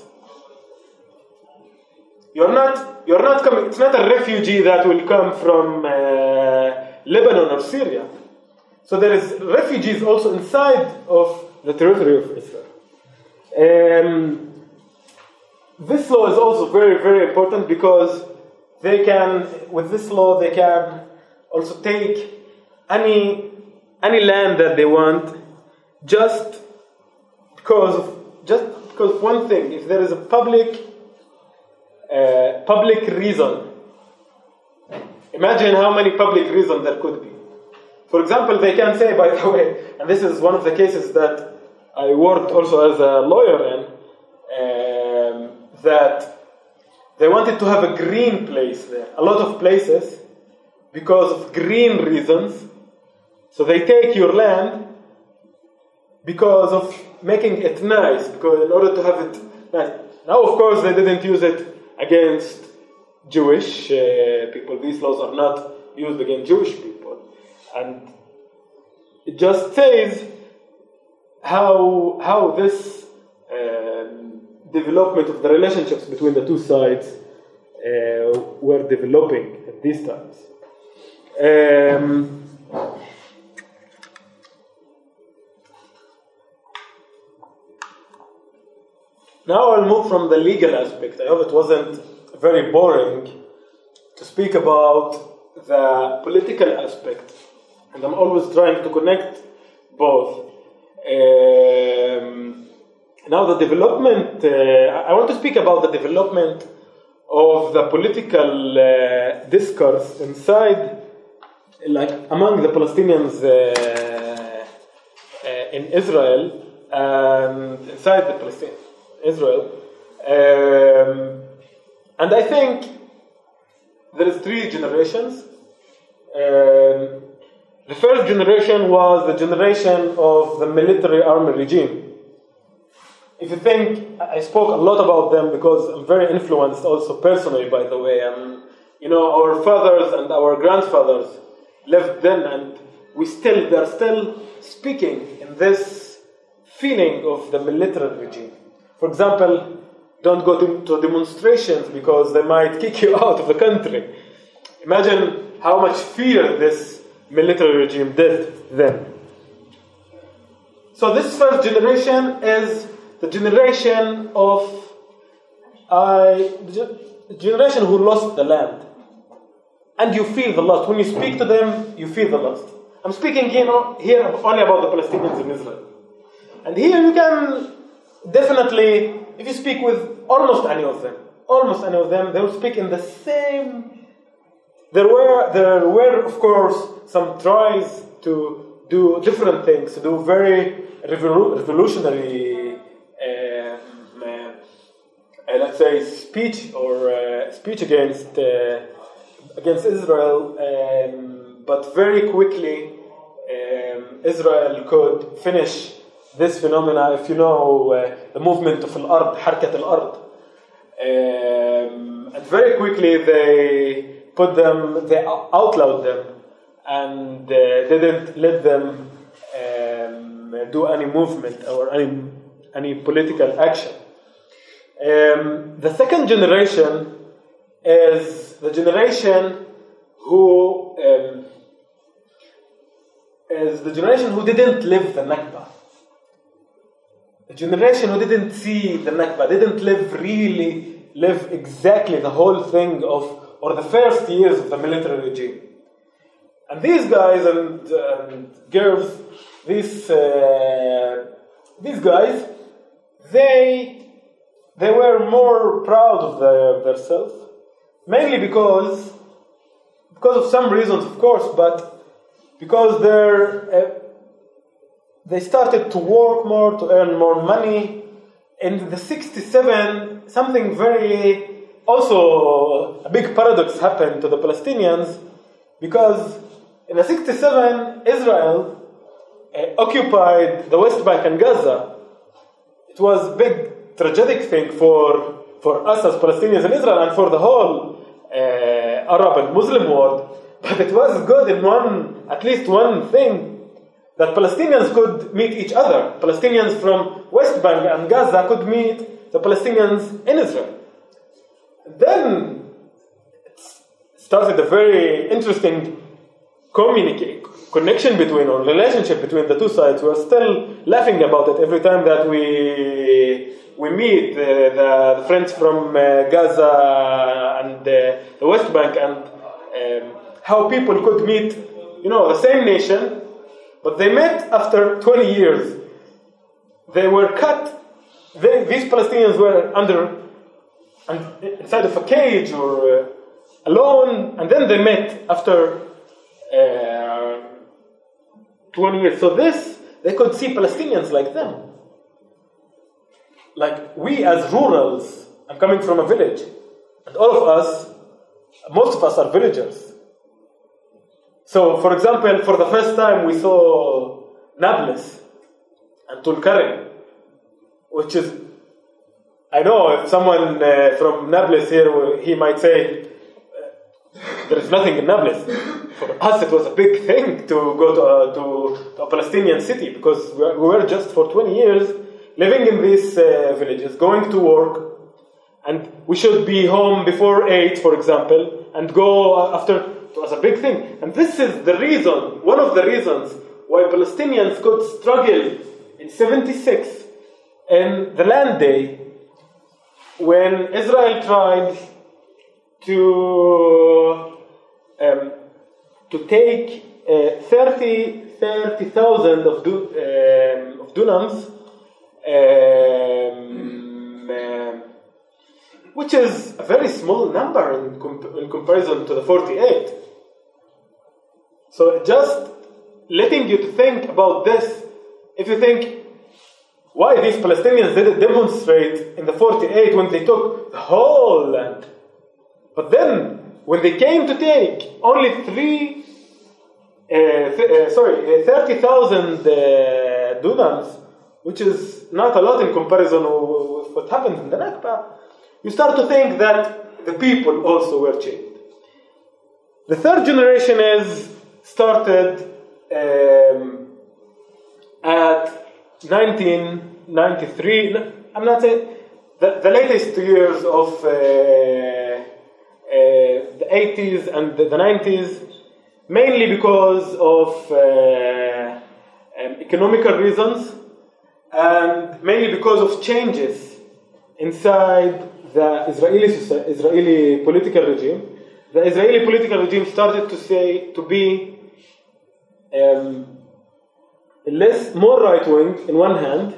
You're not, you're not coming, it's not a refugee that will come from uh, Lebanon or Syria. So there is refugees also inside of the territory of Israel. Um, this law is also very, very important because they can, with this law, they can also take any any land that they want, just because of just because of one thing. If there is a public uh, public reason, imagine how many public reasons there could be. For example, they can say, by the way, and this is one of the cases that I worked also as a lawyer in, um, that they wanted to have a green place there. A lot of places, because of green reasons, so they take your land because of making it nice, because in order to have it nice. Now, of course, they didn't use it against Jewish uh, people. These laws are not used against Jewish people. And it just says how, how this um, development of the relationships between the two sides uh, were developing at these times. Um, now I'll move from the legal aspect. I hope it wasn't very boring to speak about the political aspect. And I'm always trying to connect both. Um, now the development, uh, I want to speak about the development of the political uh, discourse inside, like among the Palestinians uh, uh, in Israel and inside the Palestinian Israel. Um, and I think there is three generations. Um, the first generation was the generation of the military army regime. If you think, I spoke a lot about them because I'm very influenced also personally, by the way. Um, you know, our fathers and our grandfathers lived then, and we still, they're still speaking in this feeling of the military regime. For example, don't go to, to demonstrations because they might kick you out of the country. Imagine how much fear this military regime did then. So this first generation is the generation of uh, the generation who lost the land. And you feel the loss. When you speak to them, you feel the loss. I'm speaking you know, here only about the Palestinians in Israel. And here you can definitely, if you speak with almost any of them, almost any of them, they will speak in the same. There were, there were, of course, some tries to do different things, to do very revolu- revolutionary, uh, uh, let's say, speech or uh, speech against uh, against Israel. Um, but very quickly, um, Israel could finish this phenomena. If you know uh, the movement of al-ard, Harkat al-ard, um, and very quickly they put them, they outlawed them, and uh, didn't let them um, do any movement or any any political action. Um, the second generation is the generation who um, is the generation who didn't live the Nakba. The generation who didn't see the Nakba, didn't live really, live exactly the whole thing of, or the first years of the military regime. And these guys and, and girls, these, uh, these guys, they, they were more proud of their, themselves, mainly because, because of some reasons, of course, but because they're, uh, they started to work more, to earn more money. In the sixty-seven, something very, also a big paradox happened to the Palestinians, because in the sixty-seven, Israel uh, occupied the West Bank and Gaza. It was a big tragic thing for, for us as Palestinians in Israel and for the whole uh, Arab and Muslim world. But it was good in one, at least one thing, that Palestinians could meet each other. Palestinians from West Bank and Gaza could meet the Palestinians in Israel. Then it started a very interesting communica- connection between, or relationship between the two sides. We are still laughing about it every time that we we meet uh, the, the friends from uh, Gaza and uh, the West Bank, and um, how people could meet, you know, the same nation, but they met after twenty years. They were cut. They, these Palestinians were under, and inside of a cage or uh, alone, and then they met after uh, twenty years. So this, they could see Palestinians like them. Like we as rurals, I'm coming from a village, and all of us, most of us are villagers. So, for example, for the first time we saw Nablus and Tulkarem, which is, I know if someone uh, from Nablus here, he might say, uh, there is nothing in Nablus. For us it was a big thing to go to, uh, to, to a Palestinian city, because we were just for twenty years living in these uh, villages, going to work, and we should be home before eight, for example, and go after. It was a big thing. And this is the reason, one of the reasons why Palestinians could struggle in seventy-six in the Land Day, when Israel tried to um, to take uh, thirty thousand of, du, um, of dunams, um, um, which is a very small number in, comp- in comparison to the forty-eight. So just letting you to think about this, if you think, why these Palestinians didn't demonstrate in the forty-eight when they took the whole land? But then, when they came to take only three, uh, th- uh, sorry, uh, thirty thousand uh, dunams, which is not a lot in comparison with what happened in the Nakba, you start to think that the people also were changed. The third generation is started um, at nineteen ninety-three. I'm not saying the, the latest years of uh, uh, the eighties and the, the nineties, mainly because of uh, um, economical reasons, and mainly because of changes inside the Israeli Israeli political regime. The Israeli political regime started to say to be um, less more right wing in one hand,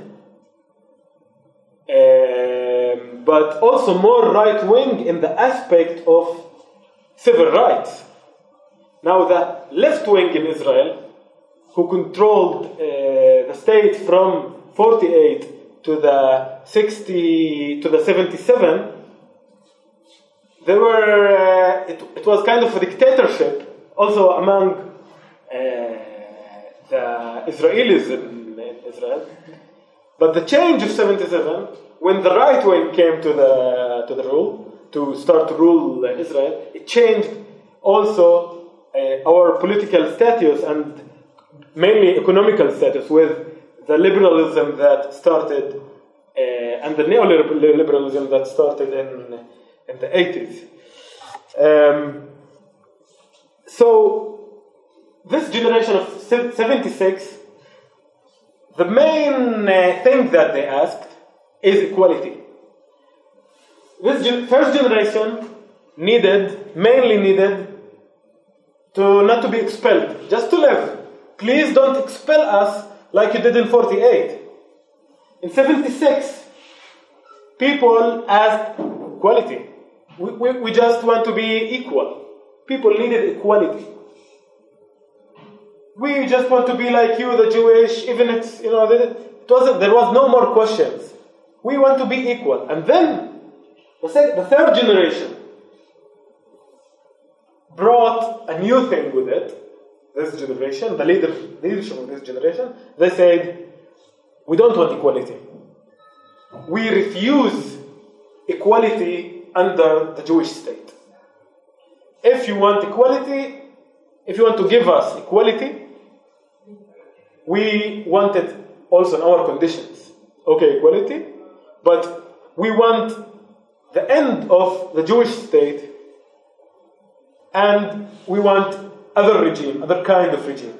um, but also more right wing in the aspect of civil rights. Now the left wing in Israel, who controlled uh, the state from forty-eight to the sixty to the seventy-seven, there were uh, it, it was kind of a dictatorship also among uh, the Israelis in, in Israel. But the change of seventy-seven, when the right wing came to the to the rule to start to rule Israel, it changed also uh, our political status and mainly economical status, with the liberalism that started uh, and the neoliberalism that started in in the eighties. Um, so this generation of seventy-six, the main uh, thing that they asked is equality. This gen- first generation needed, mainly needed, to not to be expelled, just to live. Please don't expel us like you did in forty-eight. In seventy-six, people asked equality. We, we, we just want to be equal. People needed equality. We just want to be like you, the Jewish, even it's, you know, it wasn't, there was no more questions. We want to be equal. And then, the, second, the third generation brought a new thing with it. This generation, the leader, leadership of this generation, they said, we don't want equality. We refuse equality under the Jewish state. If you want equality, if you want to give us equality, we want it also in our conditions. Okay, equality, but we want the end of the Jewish state, and we want other regime, other kind of regime.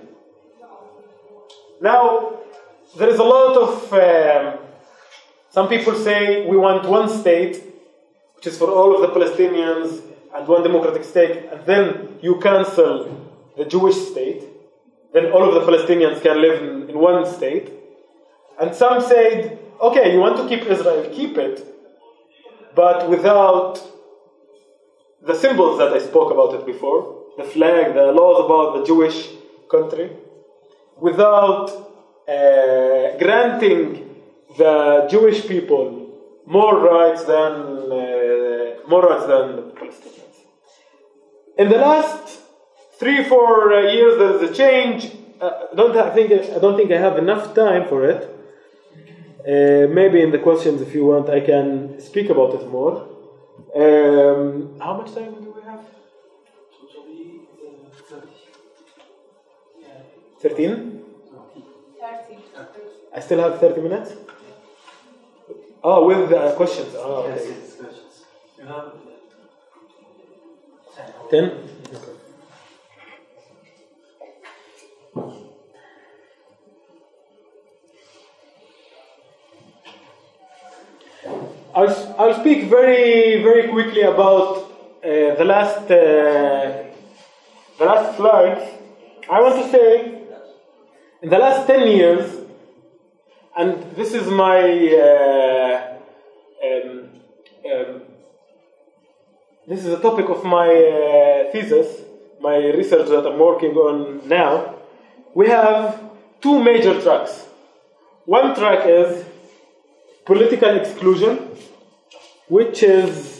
Now, there is a lot of, um, some people say we want one state, which is for all of the Palestinians, and one democratic state, and then you cancel the Jewish state, then all of the Palestinians can live in, in one state. And some said, okay, you want to keep Israel, keep it, but without the symbols that I spoke about it before, the flag, the laws about the Jewish country, without uh, granting the Jewish people more rights than uh, more rights than the Palestinians. In the last three, four uh, years, there is a change. Uh, I don't have, think I don't think I have enough time for it. Uh, maybe in the questions, if you want, I can speak about it more. Um, how much time do we have? Thirteen. Thirty. I still have thirty minutes. Oh, with uh, questions. Oh, okay. Yes, questions. You have Ten. Okay. I'll, I'll speak very, very quickly about uh, the last uh, the last slides. I want to say, in the last ten years, and this is my uh, um, um, this is a topic of my uh, thesis, my research that I'm working on now. We have two major tracks. One track is political exclusion, which is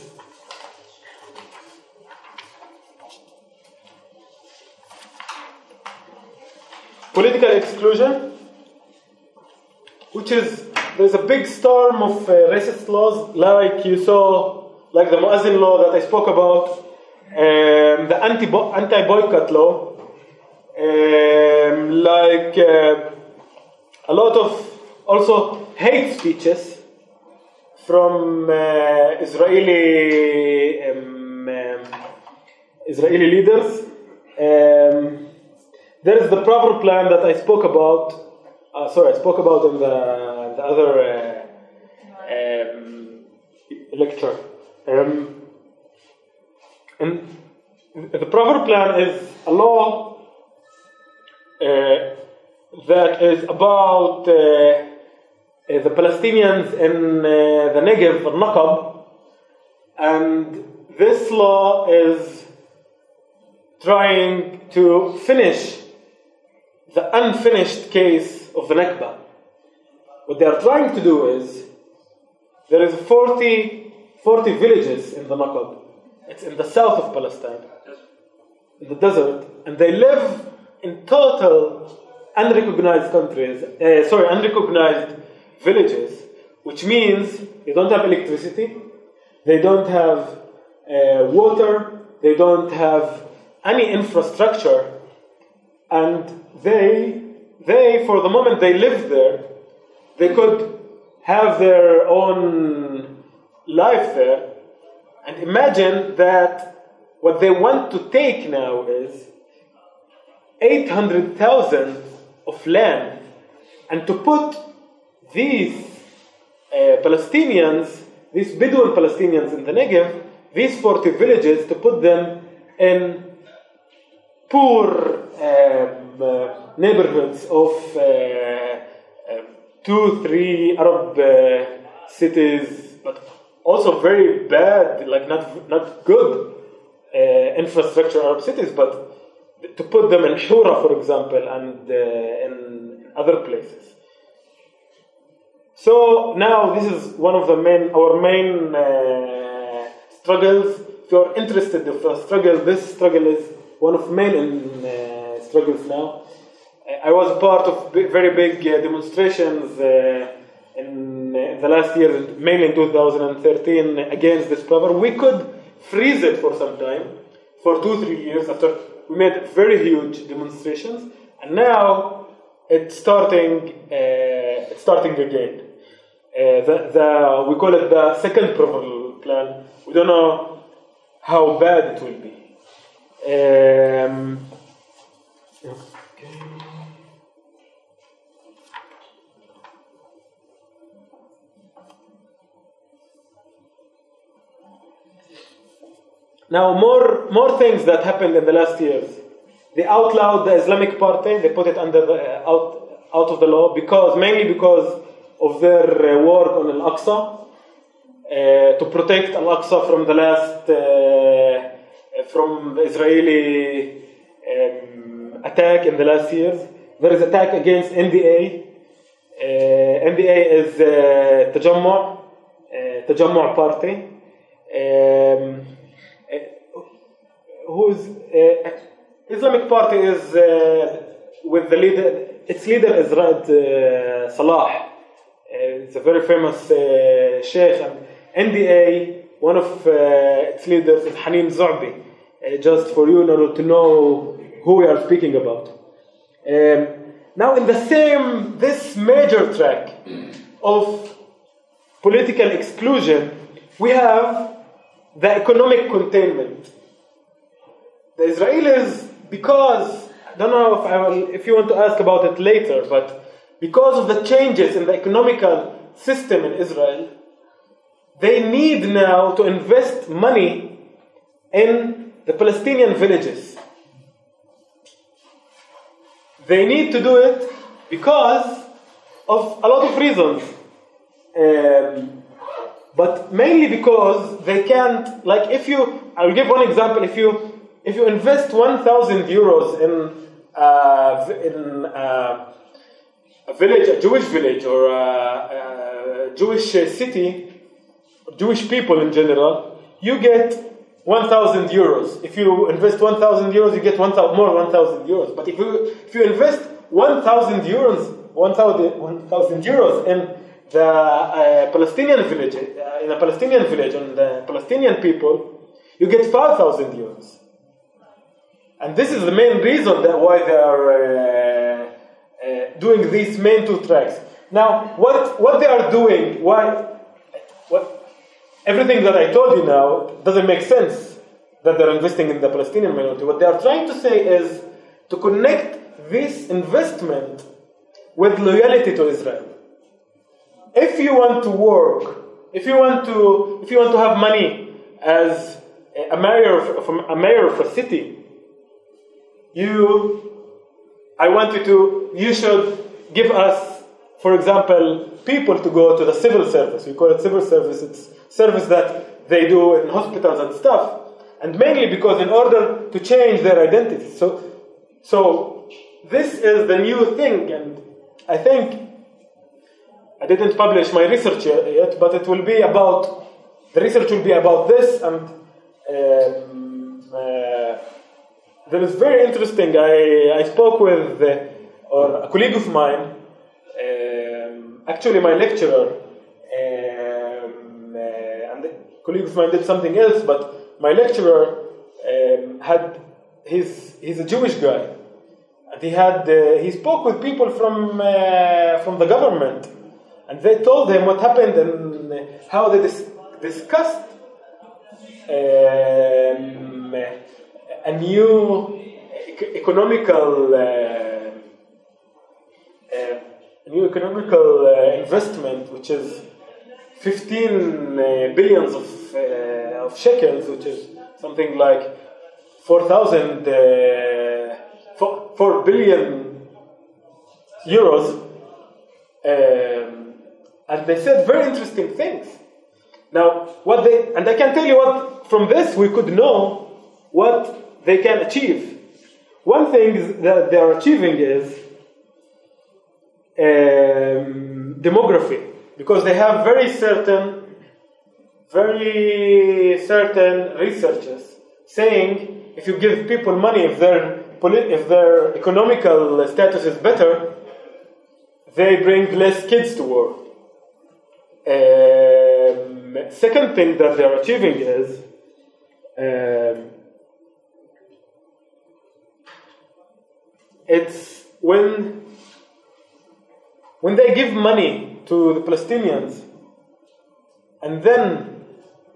political exclusion, which is, there's a big storm of uh, racist laws, like you saw, like the Muazzin law that I spoke about, um, the anti anti-boycott law, um, like uh, a lot of also hate speeches from uh, Israeli um, um, Israeli leaders. Um, there is the proper plan that I spoke about. Uh, sorry, I spoke about in the, the other uh, um, lecture. Um, and the proper plan is a law uh, that is about uh, the Palestinians in uh, the Negev, al-Naqab, and this law is trying to finish the unfinished case of the Nakba. What they are trying to do is, there is forty, forty villages in the Naqab. It's in the south of Palestine, in the desert, and they live in total unrecognized countries, uh, sorry, unrecognized villages, which means they don't have electricity, they don't have uh, water, they don't have any infrastructure, and they, they, for the moment they live there, they could have their own life there. And imagine that what they want to take now is, eight hundred thousand of land, and to put these uh, Palestinians, these Bedouin Palestinians in the Negev, these forty villages, to put them in poor um, uh, neighborhoods of uh, uh, two, three Arab uh, cities, but also very bad, like not not good uh, infrastructure Arab cities, but to put them in Shura, for example, and uh, in other places. So now this is one of the main, our main uh, struggles. If you're interested in the struggle, this struggle is one of main uh, struggles now. I was part of big, very big uh, demonstrations uh, in, in the last year, mainly in two thousand thirteen, against this program. We could freeze it for some time, for two, three years after we made very huge demonstrations, and now it's starting. Uh, it's starting again. Uh, the, the we call it the second Proval plan. We don't know how bad it will be. Um, okay. Now, more more things that happened in the last years. They outlawed the Islamic Party. They put it under the, uh, out out of the law because mainly because of their uh, work on Al-Aqsa uh, to protect Al-Aqsa from the last uh, from the Israeli um, attack in the last years. There is attack against N D A. Uh, N D A is uh, Tajammu' uh, Tajammu' Party. Um, whose uh, Islamic Party is uh, with the leader, its leader is Raed uh, Salah. Uh, it's a very famous uh, sheikh. And N D A, one of uh, its leaders is Hanin Zu'bi. Uh, just for you know, to know who we are speaking about. Um, now, in the same, this major track of political exclusion, we have the economic containment. The Israelis, because, I don't know if, I will, if you want to ask about it later, but because of the changes in the economical system in Israel, they need now to invest money in the Palestinian villages. They need to do it because of a lot of reasons. Um, but mainly because they can't, like if you, I'll give one example, if you If you invest one thousand euros in, uh, in uh, a village, a Jewish village, or a, a Jewish city, Jewish people in general, you get one thousand euros. If you invest one thousand euros, you get one thousand, more one thousand euros. But if you if you invest one thousand euros, one thousand euros in the uh, Palestinian village, uh, in a Palestinian village, and the Palestinian people, you get five thousand euros. And this is the main reason that why they are uh, uh, doing these main two tracks. Now, what what they are doing? Why? What? Everything that I told you now doesn't make sense. That they're investing in the Palestinian minority. What they are trying to say is to connect this investment with loyalty to Israel. If you want to work, if you want to, if you want to have money as a mayor of a mayor of a city. You, I want you to, you should give us, for example, people to go to the civil service. We call it civil service. It's service that they do in hospitals and stuff. And mainly because in order to change their identity. So, so this is the new thing. And I think, I didn't publish my research yet, but it will be about, the research will be about this and um, uh, That is very interesting. I, I spoke with uh, or a colleague of mine, um, actually my lecturer, um, uh, and the colleague of mine did something else, but my lecturer um, had, his, he's a Jewish guy, and he had, uh, he spoke with people from, uh, from the government, and they told him what happened and how they dis- discussed um, a new e- economical, uh, uh, new economical uh, investment, which is fifteen uh, billions of, uh, of shekels, which is something like four thousand, uh, four, four billion euros. Um, and they said very interesting things. Now, what they, and I can tell you what, from this we could know what they can achieve. One thing that they are achieving is um, demography, because they have very certain, very certain researchers saying if you give people money, if their if their economical status is better, they bring less kids to work. Um, second thing that they are achieving is um, it's when when they give money to the Palestinians and then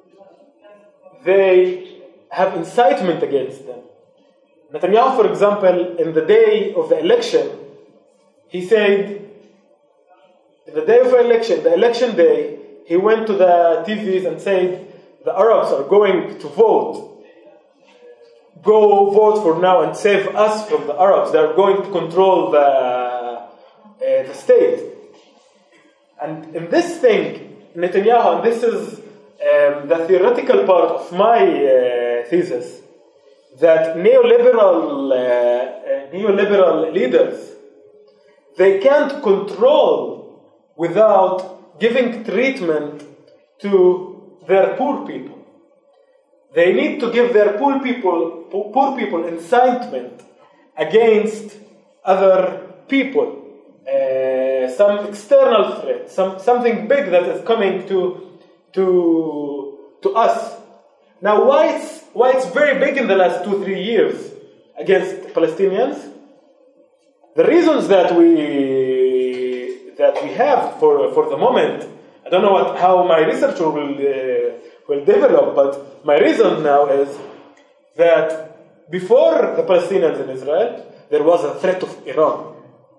they have incitement against them. Netanyahu, for example, in the day of the election, he said, in the day of the election, the election day, he went to the T Vs and said, the Arabs are going to vote. Go vote for now and save us from the Arabs. They are going to control the, uh, the state. And in this thing, Netanyahu, and this is um, the theoretical part of my uh, thesis, that neoliberal, uh, uh, neoliberal leaders, they can't control without giving treatment to their poor people. They need to give their poor people, poor people incitement against other people. Uh, some external threat, some, something big that is coming to, to, to us. Now, why it's, why it's very big in the last two, three years against Palestinians? The reasons that we that we have for for the moment, I don't know what, how my research will uh, will develop, but my reason now is that before the Palestinians in Israel, there was a threat of Iran.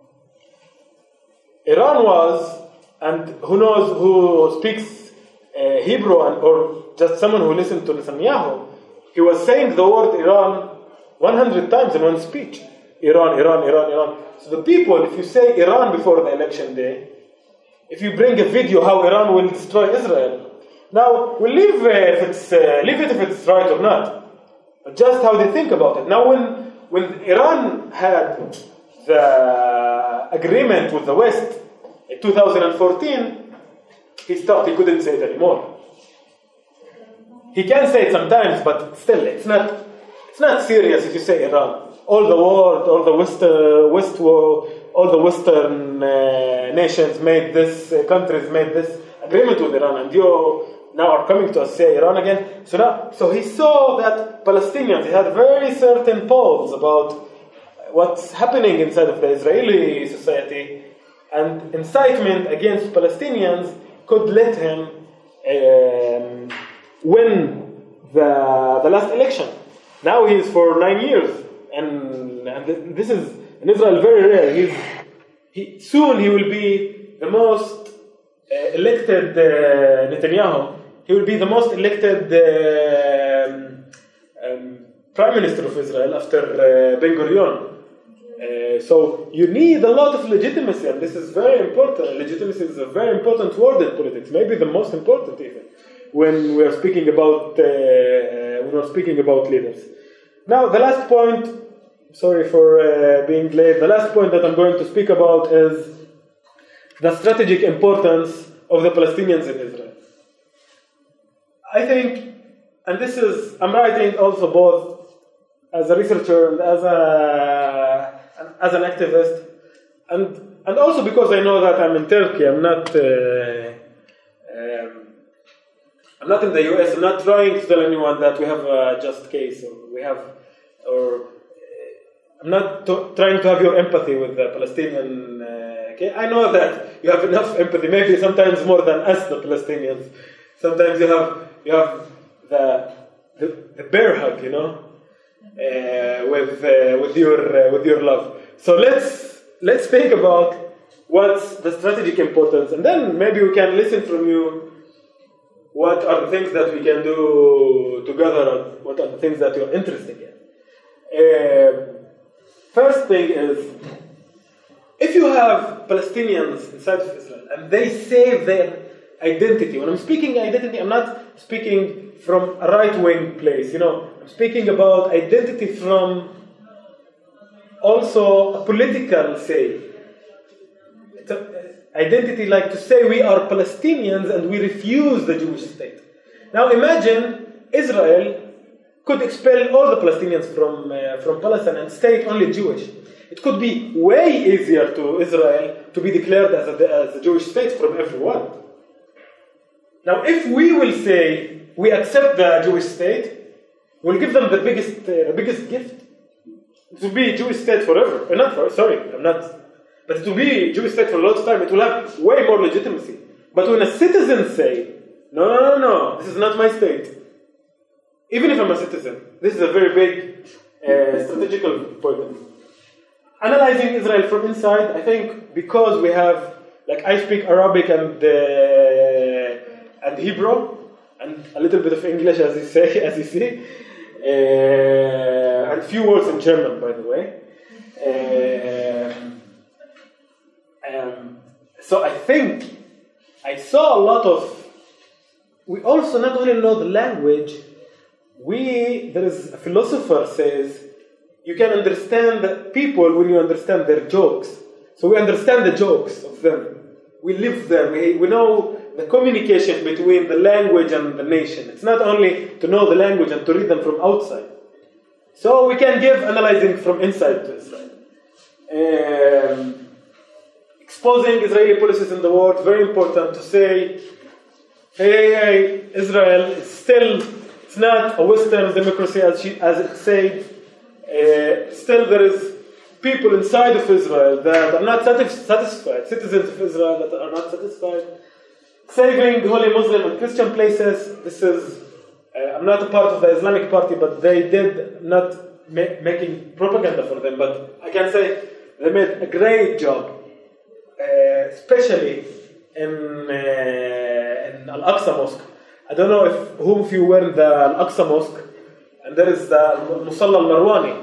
Iran was, and who knows who speaks uh, Hebrew and, or just someone who listened to Netanyahu, he was saying the word Iran one hundred times in one speech. Iran, Iran, Iran, Iran. So the people, if you say Iran before the election day, if you bring a video how Iran will destroy Israel, now we'll leave, uh, if it's, uh, leave it if it's right or not, but just how they think about it. Now when, when Iran had the agreement with the West in two thousand fourteen, he stopped, he couldn't say it anymore. He can say it sometimes, but still, it's not, it's not serious if you say Iran. All the world, all the West, uh, West, all the Western uh, nations made this, uh, countries made this agreement with Iran, and you now are coming to us say Iran again. So now, so he saw that Palestinians, he had very certain polls about what's happening inside of the Israeli society, and incitement against Palestinians could let him um, win the the last election. Now he is for nine years. And, and this is in Israel very rare. He's, he, soon he will be the most uh, elected uh, Netanyahu. He will be the most elected uh, um, um, Prime Minister of Israel after uh, Ben Gurion. Uh, so you need a lot of legitimacy, and this is very important. Legitimacy is a very important word in politics, maybe the most important even when we are speaking about uh, when we are speaking about leaders. Now, the last point, sorry for uh, being late, the last point that I'm going to speak about is the strategic importance of the Palestinians in Israel. I think, and this is, I'm writing also both as a researcher and as a as an activist, and and also because I know that I'm in Turkey, I'm not uh, um, I'm not in the U S, I'm not trying to tell anyone that we have a just case, or we have, or uh, I'm not to, trying to have your empathy with the Palestinian uh, case. I know that you have enough empathy, maybe sometimes more than us, the Palestinians. Sometimes you have you have the the, the bear hug, you know. uh, with uh, with your uh, with your love. So let's let's think about what's the strategic importance, and then maybe we can listen from you. What are the things that we can do together, or what are the things that you're interested in? Uh, first thing is, if you have Palestinians inside of Israel and they save their identity, when I'm speaking identity, I'm not speaking from a right-wing place, you know, I'm speaking about identity from also a political, say, it's a, identity like to say we are Palestinians and we refuse the Jewish state. Now imagine Israel could expel all the Palestinians from, uh, from Palestine and stay only Jewish. It could be way easier to Israel to be declared as a, as a Jewish state from everyone. Now if we will say we accept the Jewish state, we'll give them the biggest, uh, the biggest gift. It will be a Jewish state forever. Uh, not for, sorry, I'm not. But it will be a Jewish state for a lot of time. It will have way more legitimacy. But when a citizen say, no, no, no, no, this is not my state. Even if I'm a citizen, this is a very big uh, strategical point. Analyzing Israel from inside, I think because we have, like I speak Arabic and uh, and Hebrew, and a little bit of English as you say, as you see, uh, and few words in German, by the way. Um, um, so I think I saw a lot of. We also not only know the language. We there is a philosopher says you can understand the people when you understand their jokes. So we understand the jokes of them. We live there. We we know the communication between the language and the nation. It's not only to know the language and to read them from outside. So we can give analyzing from inside to Israel. Um, exposing Israeli policies in the world, very important to say, hey, hey, Israel is still, it's not a Western democracy as, she, as it said. Uh, still there is people inside of Israel that are not satis- satisfied, citizens of Israel that are not satisfied. Saving holy Muslim and Christian places, this is, uh, I'm not a part of the Islamic Party, but they did not ma- making propaganda for them, but I can say they made a great job, uh, especially in, uh, in Al-Aqsa Mosque. I don't know if whom of you were in the Al-Aqsa Mosque, and there is the Musalla al-Marwani.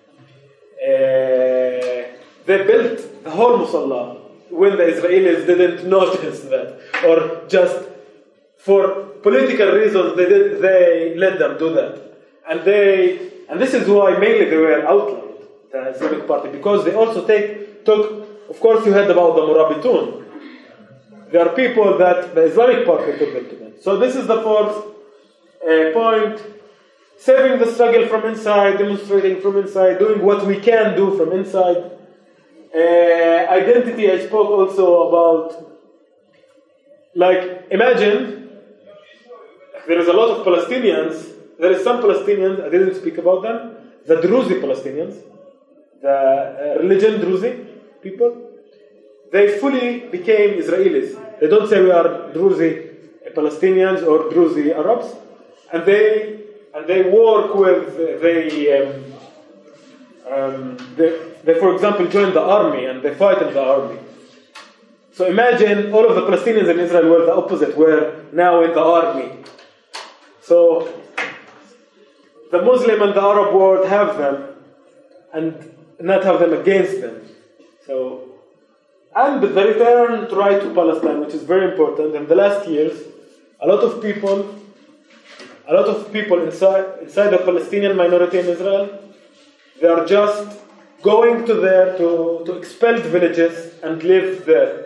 Uh, they built the whole Musalla when the Israelis didn't notice that, or just for political reasons they did, they let them do that, and they and this is why mainly they were outlawed, the Islamic Party, because they also take took. Of course, you heard about the Murabitun. There are people that the Islamic Party took them to them. So this is the fourth uh, point. Saving the struggle from inside, demonstrating from inside, doing what we can do from inside. Uh, identity, I spoke also about, like, imagine, there is a lot of Palestinians, there is some Palestinians, I didn't speak about them, the Druzi Palestinians, the uh, religion Druzi people, they fully became Israelis. They don't say we are Druzi Palestinians or Druzi Arabs, and they and they work with they um, um, they, they for example join the army and they fight in the army. So imagine all of the Palestinians in Israel were the opposite, were now in the army. So the Muslim and the Arab world have them and not have them against them. So and the return to right to Palestine, which is very important. In the last years, a lot of people, a lot of people inside inside the Palestinian minority in Israel, they are just going to there to, to expelled villages and live there.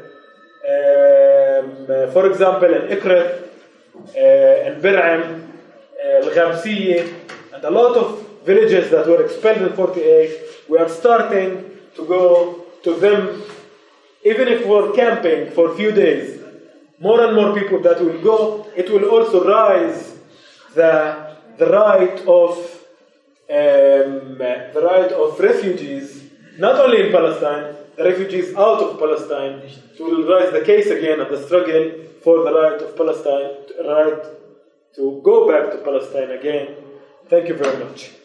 Um, for example, in Ikret, uh, in Bir'am, uh, Al-Ghamsiyya, and a lot of villages that were expelled in forty-eight, we are starting to go to them. Even if we're camping for a few days, more and more people that will go, it will also rise the the right of um, the right of refugees, not only in Palestine, the refugees out of Palestine. It will rise the case again of the struggle for the right of Palestine, the right to go back to Palestine again. Thank you very much.